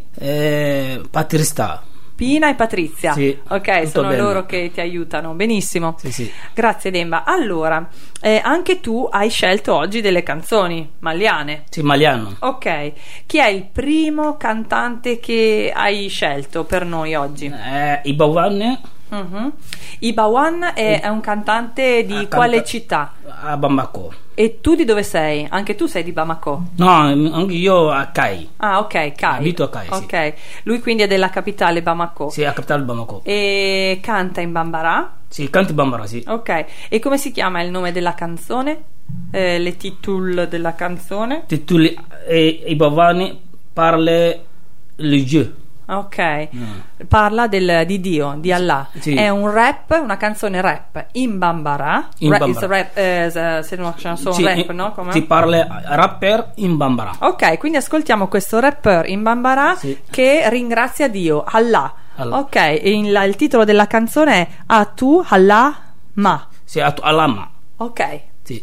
e Patrizia. Pina e Patrizia, sì, ok, sono bene. loro che ti aiutano, benissimo. Sì, sì. Grazie Demba. Allora, eh, anche tu hai scelto oggi delle canzoni maliane. Sì, maliano. Ok, chi è il primo cantante che hai scelto per noi oggi? Eh, Ibawan. Uh-huh. Ibawan è, è un cantante di ah, quale canta- città? A Bamako. E tu di dove sei? Anche tu sei di Bamako? No, anche io a Kai. Ah, ok, Kai. Abito a Kai, Ok, sì. lui quindi è della capitale Bamako. Sì, a capitale Bamako. E canta in Bambara? Sì, canta in Bambara, sì. Ok, e come si chiama il nome della canzone? Eh, le titul della canzone? Titoli eh, Ibawan parla le Dieu. Ok, Mm. parla del, di Dio, di Allah. Sì. È un rap, una canzone rap in Bambara. In Ra- Bambara. is rap, eh, c'est una chanson Sì, rap, in- no? Come? Si parla rapper in Bambara. Ok, quindi ascoltiamo questo rapper in Bambara Sì. che ringrazia Dio, Allah. Allah. Ok, e il, il titolo della canzone è Atu Allah Ma. Sì, a Alama. Ok. Sì.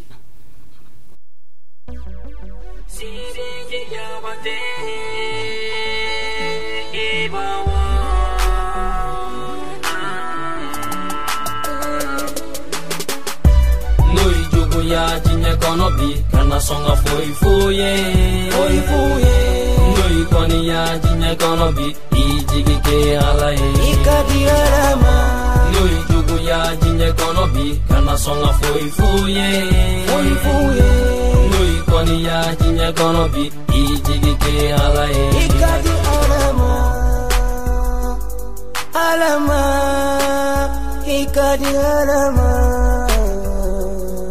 Noi jugo ya jinya kono bi kana songa foi foye foi foye Noi koni ya jinya kono bi ijigi ke alae ikadi alama Noi jugo ya jinya kono bi kana songa foi foye foi foye Noi koni ya jinya kono bi ijigi ke alae ikadi alama alama ikadi alama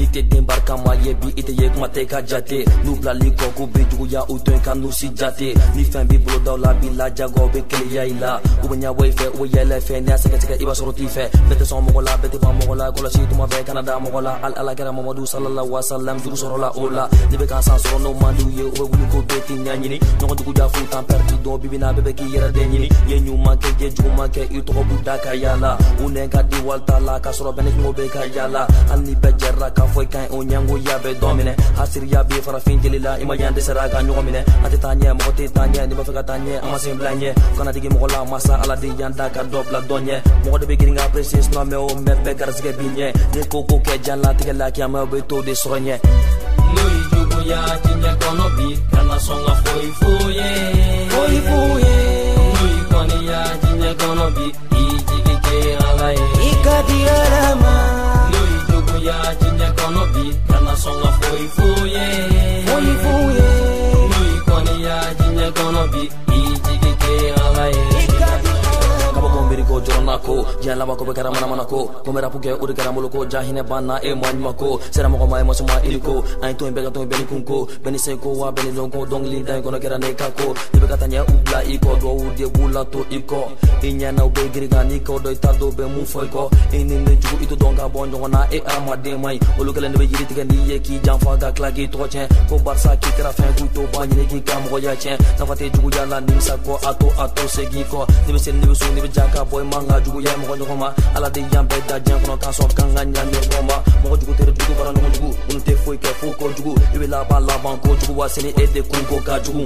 ite dembarka ma yebi ite ye kuma te ka jate nu blali ko ku be juguya utwen ka nu si jate ni fen bi bolo daw la bi la jago be kele ya ila u nya way fe u yele fe ne asaka tika iba soroti fe bete son mo la bete ba mo la ko la si tuma be canada mo la al ala gara mamadou sallallahu alaihi wasallam juru sorola ola de be kan san soro no mandu ye o wulu ko be tin nyani no ko juguya fu tan perdi do bi bina be be ki yera de nyini ye nyu ma ke je ju ma ke i to buda ka yala unen ka di walta la ka soro bene mo be ka yala anni be jerra ka foi kan o nyango ya be domine hasir ya be fara fin jelila ima yande sara ka nyogo mine ate tanye mo te tanye ni ba fe ka tanye ama sim blanye kana digi mo la masa ala di yanda ka dobla donye mo de be giringa precis no me o me be garsge binye de koko ke jalla te la ki ama be to de sogne lui jugo ya tinye kono bi kana songa foi fuye foi fuye lui koni ya tinye kono bi ijigi ke ala e ikadi alama lui jugo ya tinye kono bi kana songa foi fuye foi fuye lui koni ya tinye kono bi ijigi ke ala e kaba kombiri ko jorona ko jala ba ko be kara mana mana ko komera puke uri kara molo ko jahine bana e manma ko sera mo ko mai mo suma iliko ai to be ga to be kunko beni se ko wa beni lonko dong li dai ko na kera ne ka ko de be katanya ubla iko do de bula to iko inya na be giri ga ni ko do ta do be mu foi ko ini ne ju ito donga bonjo na e ama de mai olu kala ne be yiri tiga ni ye ki jan fa ga klagi to chen ko barsa ki kra fa ku to ba ni ki kam ko ya chen na fa te ju ya la ni sa ko ato ato se gi ko ni be sen ni be so ni be jaka boy manga jugu ya mo ko ma ala de yambe da jan ko kan so kan ganya ni ko ma mo jugu tere jugu bara no jugu un te foi ke fu ko jugu e la ba la ban ko jugu wa seni e de kun ko ka jugu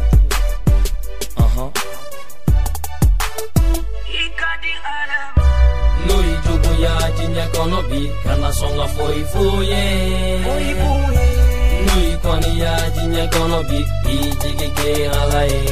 aha ikadi alama lui jugu ya jinya kono bi kana songa foi fuye foi fuye lui koni ya jinya kono bi ijigi ke ala e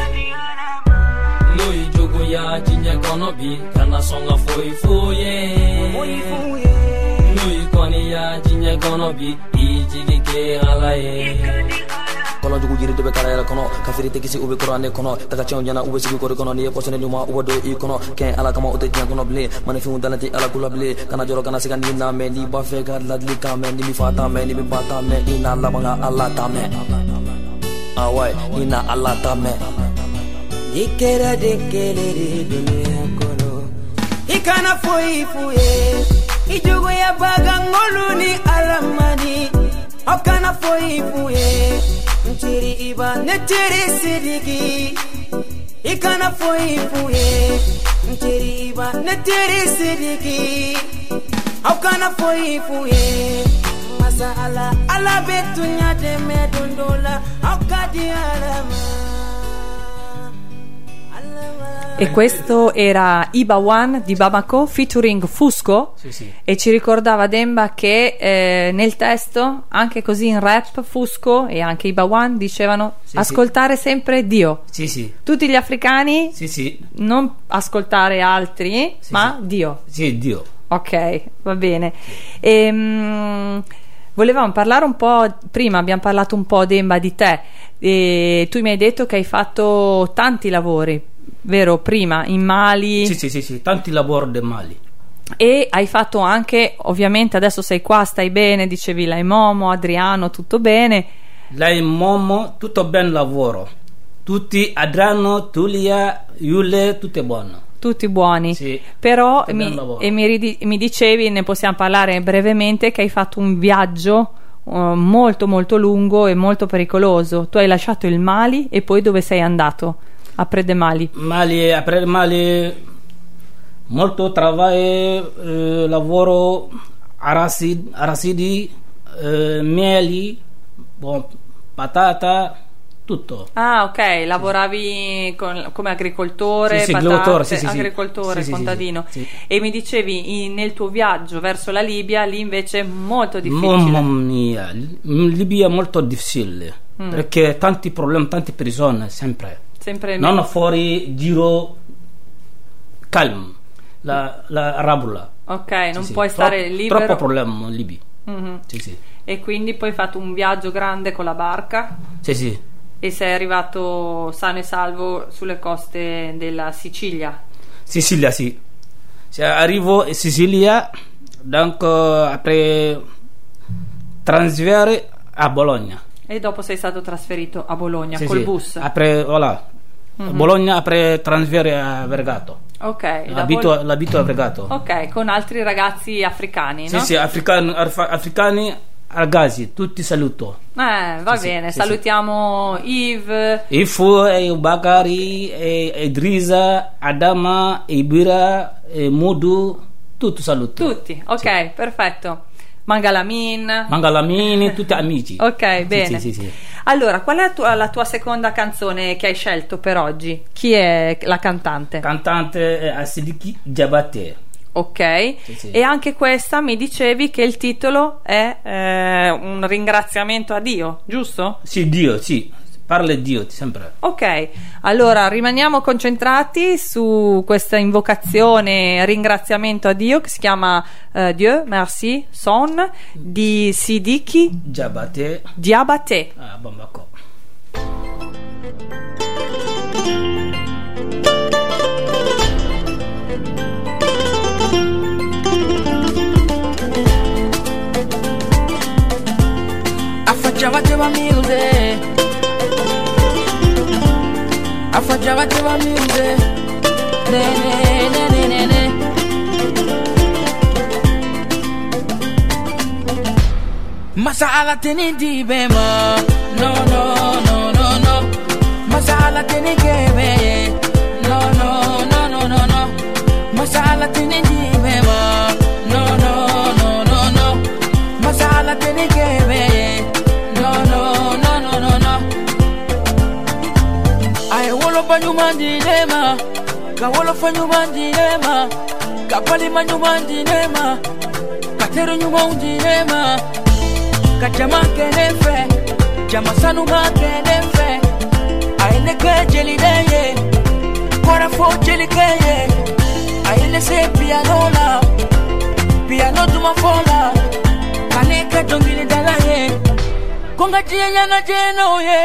lui jugu ya jinya kono bi kana songa foi fuye foi fuye lui koni ya jinya kono bi ijigi ke ala e kono jugu jiri to be kala yala kono kafiri te kisi ube korane kono taka chon jana ube sigi kore kono ni posene nyuma ube do i kono ken ala kama ute jang kono ble mane fi undalati ala kula ble kana joro kana sigan ni na me ni ba fe ga ladli ka me ni mi fata me ni mi bata me ina la banga ala ta me awai ina ala ta me ikera de kele de dunia kono ikana foi fuye ijugo ya baga ngolu ni alamani okana foi fuye ntiri iba netiri sidiki ikana foi fuye ntiri iba netiri sidiki okana foi fuye masa ala ala betunya de medondola okadi alama. E questo era Iba One di Bamako featuring Fusco, sì, sì. E ci ricordava Demba che eh, nel testo, anche così in rap, Fusco e anche Iba One dicevano sì, ascoltare sì. sempre Dio. Sì, sì. Tutti gli africani sì, sì. non ascoltare altri, sì, ma sì. Dio. Sì, Dio. Ok, va bene. E, mh, volevamo parlare un po', prima abbiamo parlato un po', Demba, di te, e tu mi hai detto che hai fatto tanti lavori, vero? Prima in Mali. Sì, sì, sì, sì, tanti lavori del Mali. E hai fatto anche, ovviamente adesso sei qua, stai bene, dicevi Lai Momo, Adriano, tutto bene. Lai Momo, tutto ben lavoro. Tutti, Adriano, Tulia, Yule, tutto è buono. Tutti buoni, sì, però mi, e mi, ridi, mi dicevi, ne possiamo parlare brevemente, che hai fatto un viaggio uh, molto molto lungo e molto pericoloso. Tu hai lasciato il Mali e poi dove sei andato? A Prede Mali. Mali, a Prede Mali, molto lavoro, eh, lavoro aracidi, aracidi eh, mieli, bon, patata, tutto. Ah, ok, lavoravi con, come agricoltore, sì, sì, patate, agricoltore, sì, sì, agricoltore sì, contadino. sì, sì. E mi dicevi in, nel tuo viaggio verso la Libia, lì invece è molto difficile. Mamma mia, in Libia è molto difficile, mm. perché tanti problemi, tante persone, sempre. sempre non me- fuori, giro, calmo, la, la rabola. Ok, non sì, puoi sì. stare Tro- libero. Troppo problema in Libia. Mm-hmm. Sì, sì. E quindi poi hai fatto un viaggio grande con la barca. Sì, sì. E sei arrivato sano e salvo sulle coste della Sicilia. Sicilia, sì. Cioè, arrivo in Sicilia, donc après trasferire a Bologna. E dopo sei stato trasferito a Bologna Sì, col sì. bus. Après, voilà. Mhm. Bologna, après trasferire a Vergato. Ok, da L'abito, Bol- l'abito a Vergato. ok, con altri ragazzi africani, Sì, no? sì, africani, arfa- africani ragazzi, tutti saluto. Eh, va Sì, bene, sì, salutiamo Yves. Ifu, e Bakari, e Idrisa, Adama, Ibira, e Mudu, tutti saluto. Tutti, ok, perfetto. Mangalamin. Mangalamini, tutti amici. Ok, Sì, bene. Sì, sì, sì. Allora, qual è la tua, la tua seconda canzone che hai scelto per oggi? Chi è la cantante? Cantante è Asidiki Diabaté. Ok, Sì, sì. e anche questa mi dicevi che il titolo è eh, un ringraziamento a Dio, giusto? Sì, Dio, sì. Parla di Dio, sempre. Ok, allora rimaniamo concentrati su questa invocazione, ringraziamento a Dio che si chiama eh, Dieu Merci Son di Sidiki Diabaté. Diabaté. Ah, bon, d'accord. Affacciava teva music, affacciava teva music, ne ne ne ne ne ne. Masala teni di bema, no no no no no. Masala teni gebe, no no no no no no. Masala teni di bema, no no no no no. Masala teni gebe, no no no no no no. Ay wolo banyuma dilema, ka wolo fanyuma dilema, ka pali manyuma dilema, ka teru nyuma dilema. Kajama kenefe, jama sanu ma kenefe. Aile ke jeli deye, kora fo jeli keye. Aile se piano la, piano tuma fola. Kane ke dongili dalaye, konga jiya na jeno ye.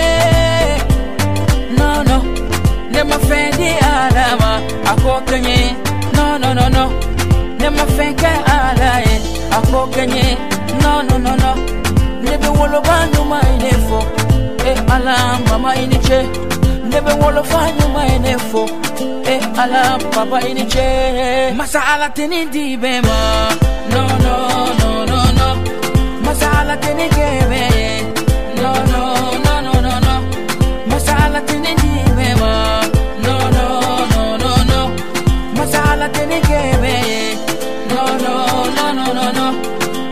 No no, ne ma fendi alama, ako kenye. No no no no, ne ma fenke alaye, ako kenye. No no no no. Nebe wolo banyu mainefo, e ala mama iniche. Nebe wolo fanyu mainefo, e ala papa iniche. Masala teni di bema, no no no no no. Masala teni gebe, no no no no no no. Masala teni di bema, no no no no no. Masala teni gebe, no no no no no no.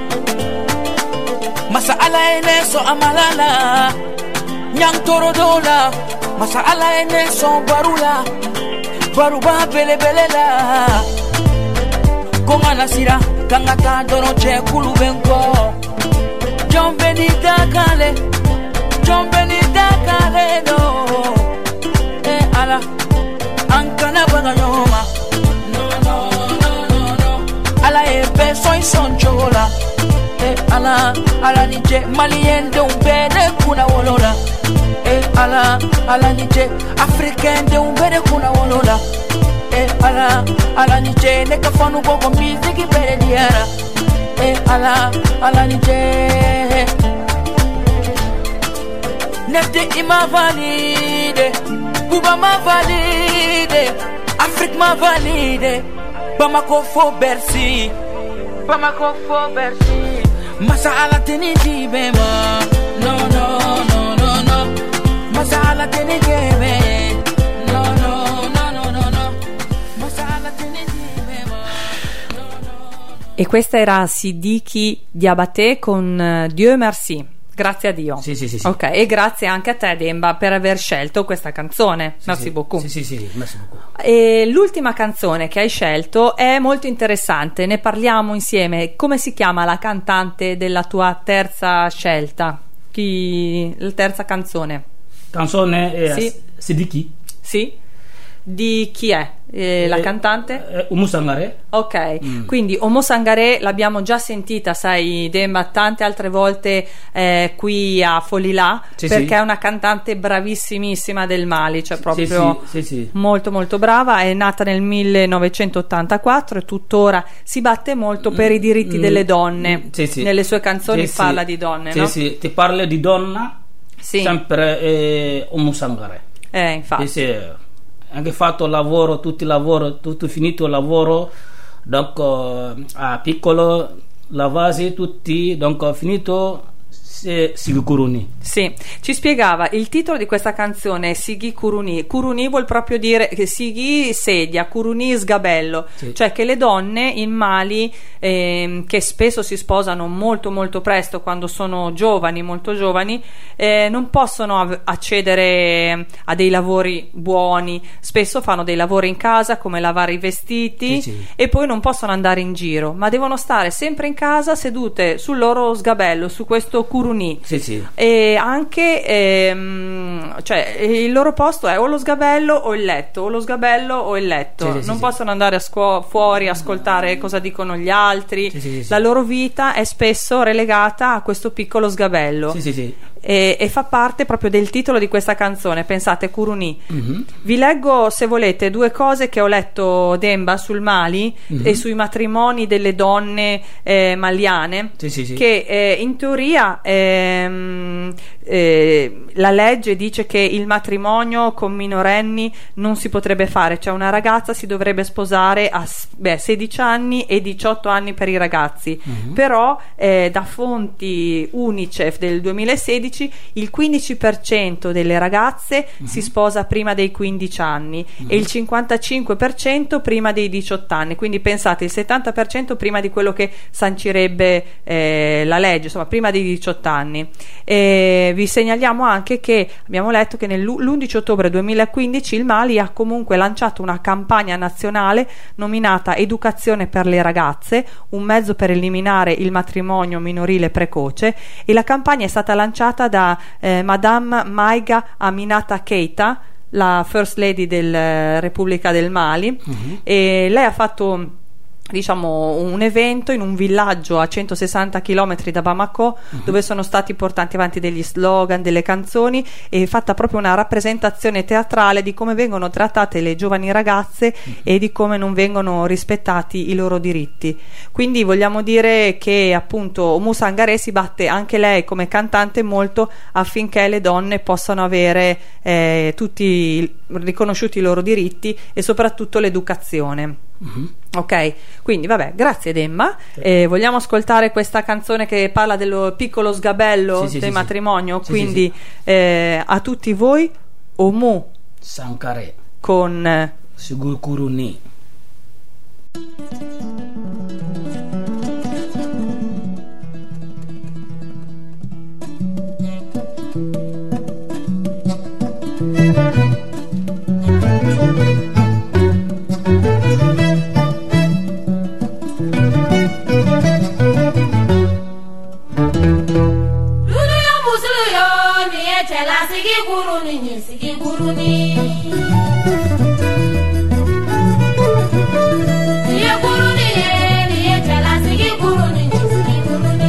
Masala ene so amalala, nyang toro dola. Masala ene so barula, baruba bele bele la. Konga nasira, kanga ta dono che kulu benko. John Benita kale, John Benita kale no. Eh ala, ankana banga nyoma. No no no no no. Ala e be soy son chola. Eh ala, ala nije malien de un bene kuna wolola. Eh ala, ala nije africain de un bene kuna wolola. Eh ala, ala nije ne kafanu bogo music bene diara. Eh ala, ala nije nefte ima valide, Cuba ma valide, Afrique ma valide, Bamako fo Bercy, Bamako fo Bercy. Masala teni di bema, no no no no no. Masala teni gebe, no no no no no no. Masala teni di bema, no no. E questa era Sidiki Diabaté con eh, Dieu Merci. Grazie a Dio. Sì, sì, sì, sì. Ok, e grazie anche a te, Demba, per aver scelto questa canzone. Sì, Merci sì. beaucoup. Sì, sì, sì, sì, merci beaucoup. E l'ultima canzone che hai scelto è molto interessante, ne parliamo insieme. Come si chiama la cantante della tua terza scelta? Chi... La terza canzone? Canzone è Sì. Sidiki. Sì. di chi è? Eh, la Eh, cantante? eh, Oumou Sangaré. Ok, Mm. quindi Oumou Sangaré l'abbiamo già sentita, sai, Demba, tante altre volte eh, qui a Folilà, Sì, perché sì. è una cantante bravissimissima del Mali, cioè proprio sì, sì, sì. molto molto brava. È nata nel millenovecentottantaquattro e tuttora si batte molto per i diritti Mm, delle donne. mm, sì, sì. Nelle sue canzoni Sì, sì. parla di donne, Sì, no? sì, ti parlo di donna, Sì. sempre eh, Oumou Sangaré. Eh, infatti. Sì, sì. Anche fatto lavoro, tutto il lavoro, tutto finito il lavoro, donc eh, a piccolo, lavasi tutti, donc ho finito se- Sigi Kuruni. Sì, ci spiegava il titolo di questa canzone, Sigi Kuruni. Kuruni vuol proprio dire che Sigi sedia, Kuruni sgabello, Sì. cioè che le donne in Mali ehm, che spesso si sposano molto molto presto quando sono giovani, molto giovani, eh, non possono av- accedere a dei lavori buoni, spesso fanno dei lavori in casa come lavare i vestiti Sì, sì. e poi non possono andare in giro, ma devono stare sempre in casa sedute sul loro sgabello, su questo Kuruni. Sì, sì. E anche ehm, cioè il loro posto è o lo sgabello o il letto, o lo sgabello o il letto. Sì, sì, non sì, possono andare a scuo- fuori a ascoltare cosa dicono gli altri. Sì, sì, sì. La loro vita è spesso relegata a questo piccolo sgabello. Sì, sì, sì. E, e fa parte proprio del titolo di questa canzone. Pensate, Kuruni. Mhm. Vi leggo, se volete, due cose che ho letto, Demba, sul Mali Mhm. e sui matrimoni delle donne eh, maliane, Sì, sì, sì. che eh, in teoria ehm, eh, la legge dice che il matrimonio con minorenni non si potrebbe fare, cioè una ragazza si dovrebbe sposare a s- beh, sedici anni e diciotto anni per i ragazzi, Mhm. però eh, da fonti Unicef del duemilasedici il quindici per cento delle ragazze si sposa prima dei quindici anni e il cinquantacinque per cento prima dei diciotto anni, quindi pensate il settanta per cento prima di quello che sancirebbe eh, la legge, insomma prima dei diciotto anni. E vi segnaliamo anche che abbiamo letto che nell'undici ottobre duemilaquindici il Mali ha comunque lanciato una campagna nazionale nominata Educazione per le ragazze, un mezzo per eliminare il matrimonio minorile precoce, e la campagna è stata lanciata da eh, Madame Maiga Aminata Keita, la First Lady della Repubblica del Mali. Mhm. E lei ha fatto, diciamo, un evento in un villaggio a centosessanta chilometri da Bamako, dove sono stati portati avanti degli slogan, delle canzoni, e fatta proprio una rappresentazione teatrale di come vengono trattate le giovani ragazze e di come non vengono rispettati i loro diritti. Quindi vogliamo dire che appunto Oumou Sangaré si batte anche lei come cantante molto affinché le donne possano avere eh, tutti riconosciuti i loro diritti e soprattutto l'educazione. Mhm. Ok, quindi vabbè, grazie Demma. Eh, vogliamo ascoltare questa canzone che parla del piccolo sgabello Sì, sì, del sì, matrimonio, sì. Sì, quindi sì, eh, a tutti voi Oumou Sangaré. con eh, Sigi Kuruni. Lulu yo musulu yo ni ye cɛla sigi kuruni ni sigi kuruni. Ni ye kuruni ye ni ye cɛla sigi kuruni ni sigi kuruni.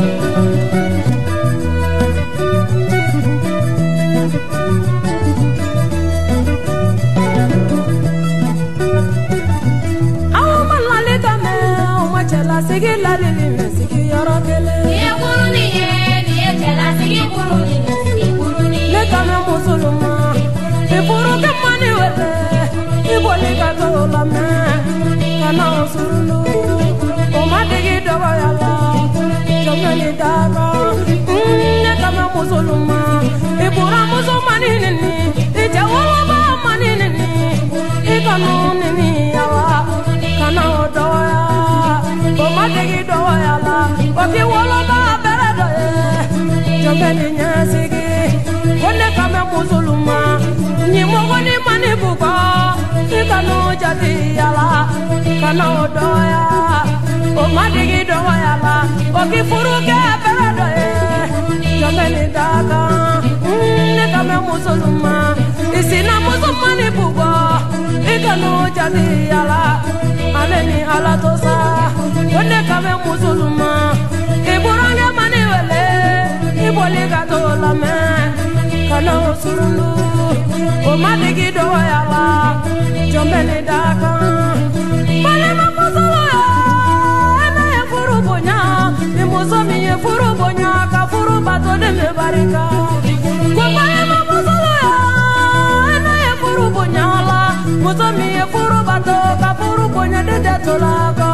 Aw ma lali ka mɛn, aw ma cɛlasigi ladili mɛn sigi yɔrɔ kelen. Ni ye kuruni ye ni ye cɛla sigi kuruni ni sigi kuruni. Ne ka mɛn musoluma, i furu kɛ mani wele, i boli ka to lamɛn, ka na o surunu. O ma digi dɔgɔya la, jɔnkɛli da kan. Ne ka mɛn musoluma, i bɔra musomani nini, i cɛ woloba mani nini, i kanu nini yawa, ka na o dɔgɔya. O ma digi dɔgɔya la, o k'i woloba bɛrɛ dɔ ye, jɔnkɛli ɲɛsigi. Ko ne ka mɛn musoluma, ɲimɔgɔ ni mani bugɔ, i kanu jati yala, ka na o dɔgɔya. O ma digi dɔgɔya la, o k'i furu kɛ bɛrɛ dɔ ye, jɔnkɛli da kan. Ne ka mɛn musoluma, i isina musumani bugo ikanu jadi ala aleni ala tosa onne kame musulma iburange mani wele iboli gato la me kana usurulu o madigi do yala jombeni daka pale mamusala na ya furu bonya ni musomi ye furu bonya ka furu bato de me barika ko pale mamusala na ya furu bonya la musomi ye furu bato ka furu bonya de de tolaka.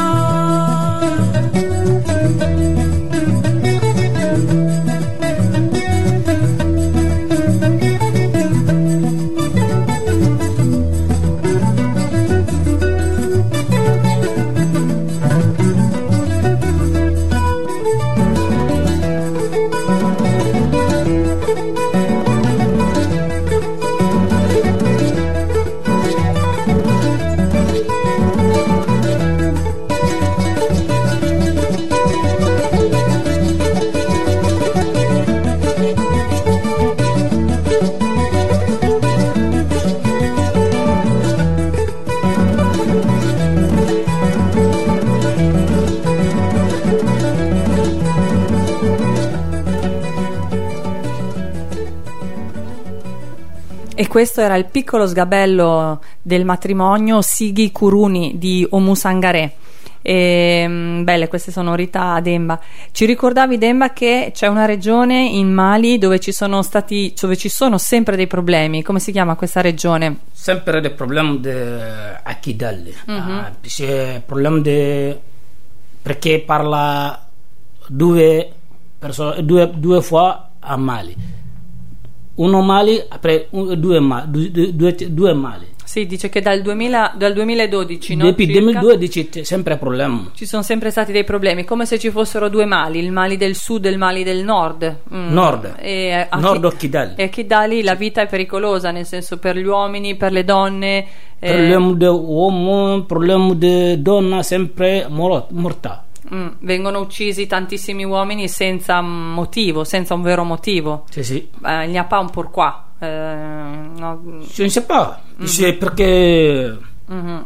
E questo era il piccolo sgabello del matrimonio Sighi Kuruni di Oumou Sangaré. E, belle queste sonorità, Demba. Ci ricordavi, Demba, che c'è una regione in Mali dove ci sono stati dove ci sono sempre dei problemi. Come si chiama questa regione? Sempre dei problemi a Kidal. Mm-hmm. Ah, c'è problemi de... perché parla due, perso... due, due fois a Mali. Uno Mali, après due, due, due, due Mali. Sì, dice che dal, duemila, dal duemiladodici, no? Dopo il duemiladodici c'è sempre problema. Ci sono sempre stati dei problemi, come se ci fossero due Mali, il Mali del sud e il Mali del nord. Mm. Nord, e a nord Chi- Kidal. E a Kidali la vita è pericolosa, nel senso per gli uomini, per le donne. Problema eh... dell'uomo, problema della donna sempre morta. Mm, vengono uccisi tantissimi uomini senza motivo, senza un vero motivo. Sì, sì. Eh, il n'y a pas un pourquoi. Eh, no. Je ne sais pas. Mm-hmm. C'est perché mm-hmm.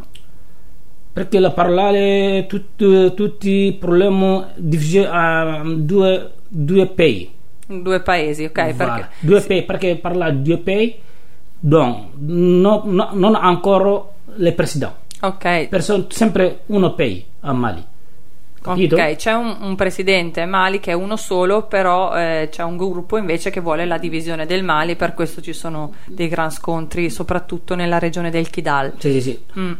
perché la parlare tutti tutti i problemi divisi a due due paesi. Due paesi, ok. Voilà. Perché due sì. paesi, perché parla due paesi, donc no, no, non ancora le presidenti. Ok. Perché sempre uno paese a Mali. Capito? Ok, c'è un, un presidente Mali che è uno solo, però eh, c'è un gruppo invece che vuole la divisione del Mali, per questo ci sono dei gran scontri, soprattutto nella regione del Kidal. Sì, sì, sì. Mm.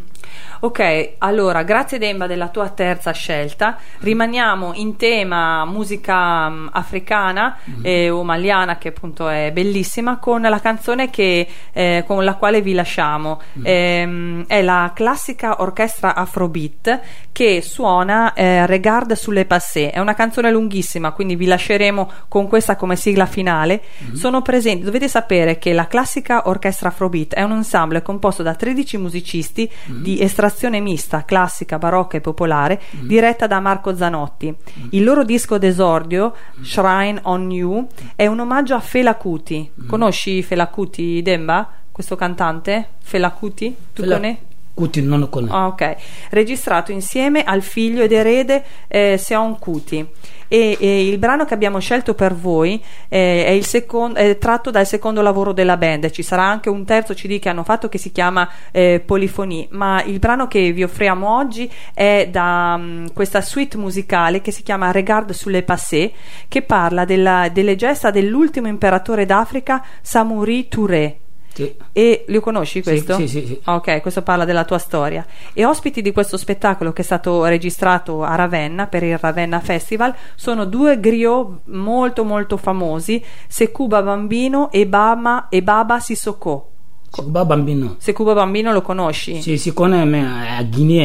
Ok, allora grazie Demba della tua terza scelta. Rimaniamo in tema musica um, africana mm-hmm. eh, o maliana, che appunto è bellissima, con la canzone che, eh, con la quale vi lasciamo. Mm-hmm. Eh, è la classica orchestra Afrobeat che suona eh, Regarde sur les passés. È una canzone lunghissima, quindi vi lasceremo con questa come sigla finale. Mm-hmm. Sono presenti, dovete sapere che la classica orchestra Afrobeat è un ensemble composto da tredici musicisti mm-hmm. di estrazione mista, classica, barocca e popolare, mm. diretta da Marco Zanotti. Mm. Il loro disco d'esordio, mm. Shrine on You, è un omaggio a Fela Kuti. Mm. Conosci Fela Kuti, Demba? Questo cantante? Fela Kuti? Tu Fela conosci? Kuti non lo conosco. Oh, ok. Registrato insieme al figlio ed erede eh, Seon Kuti. E, e il brano che abbiamo scelto per voi eh, è, il secondo, è tratto dal secondo lavoro della band. Ci sarà anche un terzo C D che hanno fatto che si chiama eh, Polyphonie, ma il brano che vi offriamo oggi è da um, questa suite musicale che si chiama Regarde sur les passés, che parla della, delle gesta dell'ultimo imperatore d'Africa, Samori Touré. Sì. E lo conosci questo? Sì, sì, sì, sì. Ok, questo parla della tua storia. E ospiti di questo spettacolo, che è stato registrato a Ravenna per il Ravenna Festival, sono due griot molto molto famosi, Sekouba Bambino e Bama e Baba Sissoko. Sekouba Bambino. Sekouba Bambino lo conosci? Sì, si conosce a Guinea.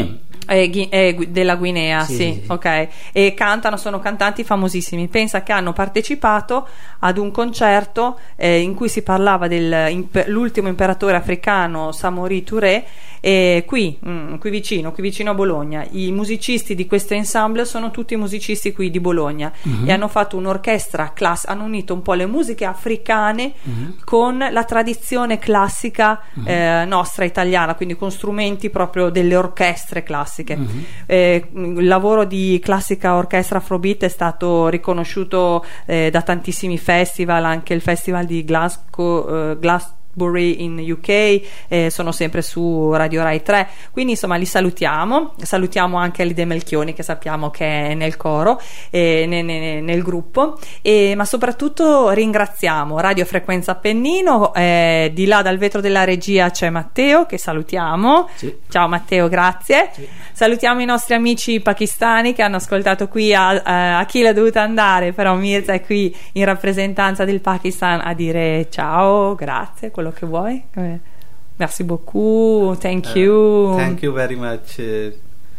Eh, Ghi- eh, Gu- della Guinea, sì, Sì, sì, sì, sì. ok. E cantano, sono cantanti famosissimi. Pensa che hanno partecipato ad un concerto eh, in cui si parlava dell'ultimo imperatore africano Samori Touré, e qui, mm, qui vicino, qui vicino a Bologna. I musicisti di questo ensemble sono tutti musicisti qui di Bologna Mhm. e hanno fatto un'orchestra class- hanno unito un po' le musiche africane Mhm. con la tradizione classica Mhm. eh, nostra italiana, quindi con strumenti proprio delle orchestre classiche. Mhm. Eh, il lavoro di classica orchestra Afrobeat è stato riconosciuto eh, da tantissimi festival, anche il festival di Glasgow, eh, Glasgow in U K, eh, sono sempre su Radio Rai tre, quindi insomma li salutiamo, salutiamo anche Alide Melchioni che sappiamo che è nel coro, eh, ne- ne- nel gruppo, e, ma soprattutto ringraziamo Radio Frequenza Appennino, eh, di là dal vetro della regia c'è Matteo che salutiamo. Sì. Ciao Matteo, grazie. Salutiamo i nostri amici pakistani che hanno ascoltato qui a, a, a chi l'ha dovuta andare, però Mirza è qui in rappresentanza del Pakistan a dire ciao, grazie, quello che vuoi. Eh, Merci beaucoup, thank Uh, you. thank you very much uh,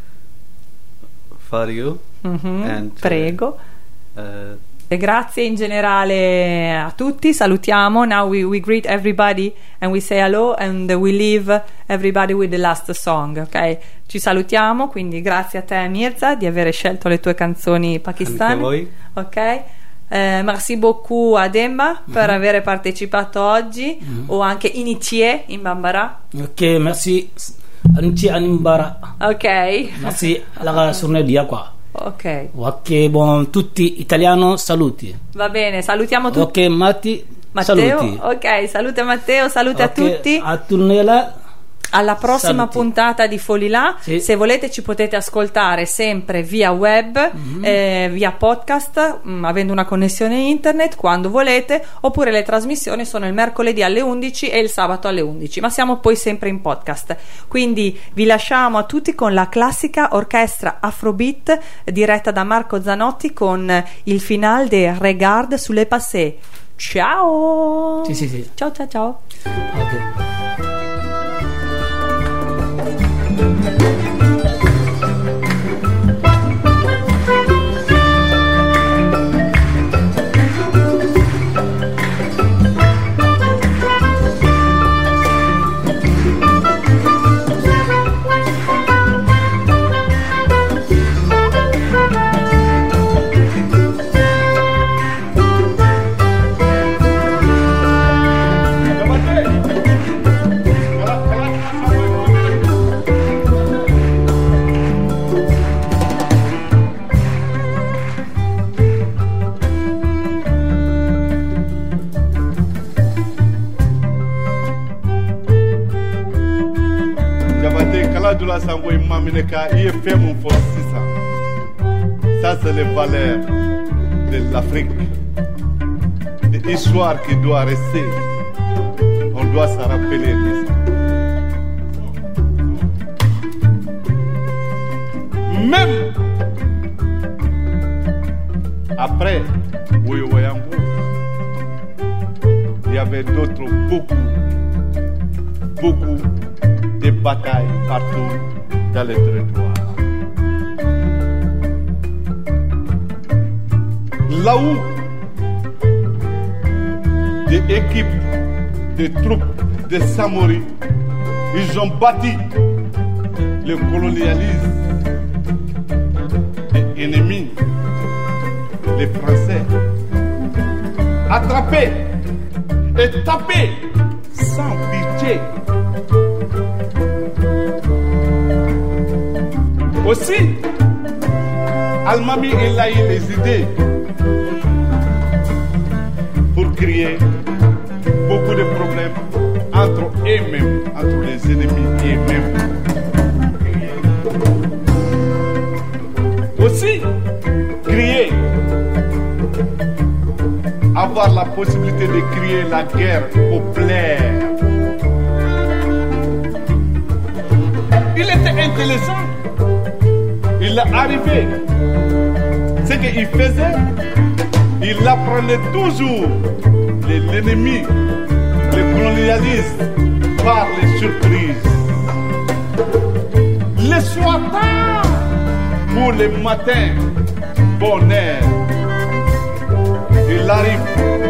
for you. Mhm, And, uh, prego. uh, E grazie in generale a tutti, salutiamo. Now we, we greet everybody and we say hello and we leave everybody with the last song, ok? Ci salutiamo, quindi grazie a te Mirza di aver scelto le tue canzoni anche pakistane. voi. Ok? Eh, merci beaucoup a Demba per aver partecipato oggi, o anche Initie in Bambara. Ok, merci. Anci Animbara. Ok. Merci alla sorne dia qua. Ok, Ok, buon tutti italiano, saluti. va bene, salutiamo tutti. Ok, Matti, Matteo, saluti. ok, salute Matteo, salute a Ok, tutti. A Turnella. Alla prossima Saluti. puntata di Folilà. Sì. Se volete ci potete ascoltare sempre via web, Mhm. eh, via podcast, mh, avendo una connessione internet quando volete, oppure le trasmissioni sono il mercoledì alle undici e il sabato alle undici, ma siamo poi sempre in podcast. Quindi vi lasciamo a tutti con la classica orchestra Afrobeat diretta da Marco Zanotti con il finale de Regarde sulle passé. Ciao. Sì, sì, sì. Ciao ciao ciao. Ok. Dula Sango Mamineka, I F M pour six cents. Ça, c'est les valeurs de l'Afrique. Des histoires qui doivent rester. On doit se rappeler de ça. Même après Woyowoyango, il y avait d'autres, beaucoup, beaucoup de batailles partout dans le territoire. Là où des équipes de troupes de Samori, ils ont bâti le colonialisme des ennemis, les Français, attrapés et tapés sans pitié. Aussi, Al-Mami, il a eu les idées pour créer beaucoup de problèmes entre eux-mêmes, entre les ennemis eux-mêmes. Aussi, créer, avoir la possibilité de créer la guerre populaire. Il était intelligent. Il est arrivé. Ce qu'il faisait, il apprenait toujours l'ennemi, le colonialisme, par les surprises. le soir tard pour le matin bonheur. Il arrive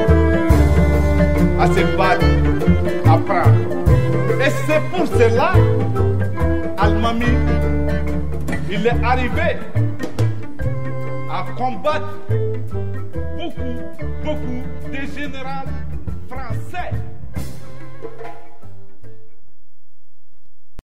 à se battre, à prendre. Et c'est pour cela, Al-Mami, il est arrivé à combattre beaucoup, beaucoup de généraux français.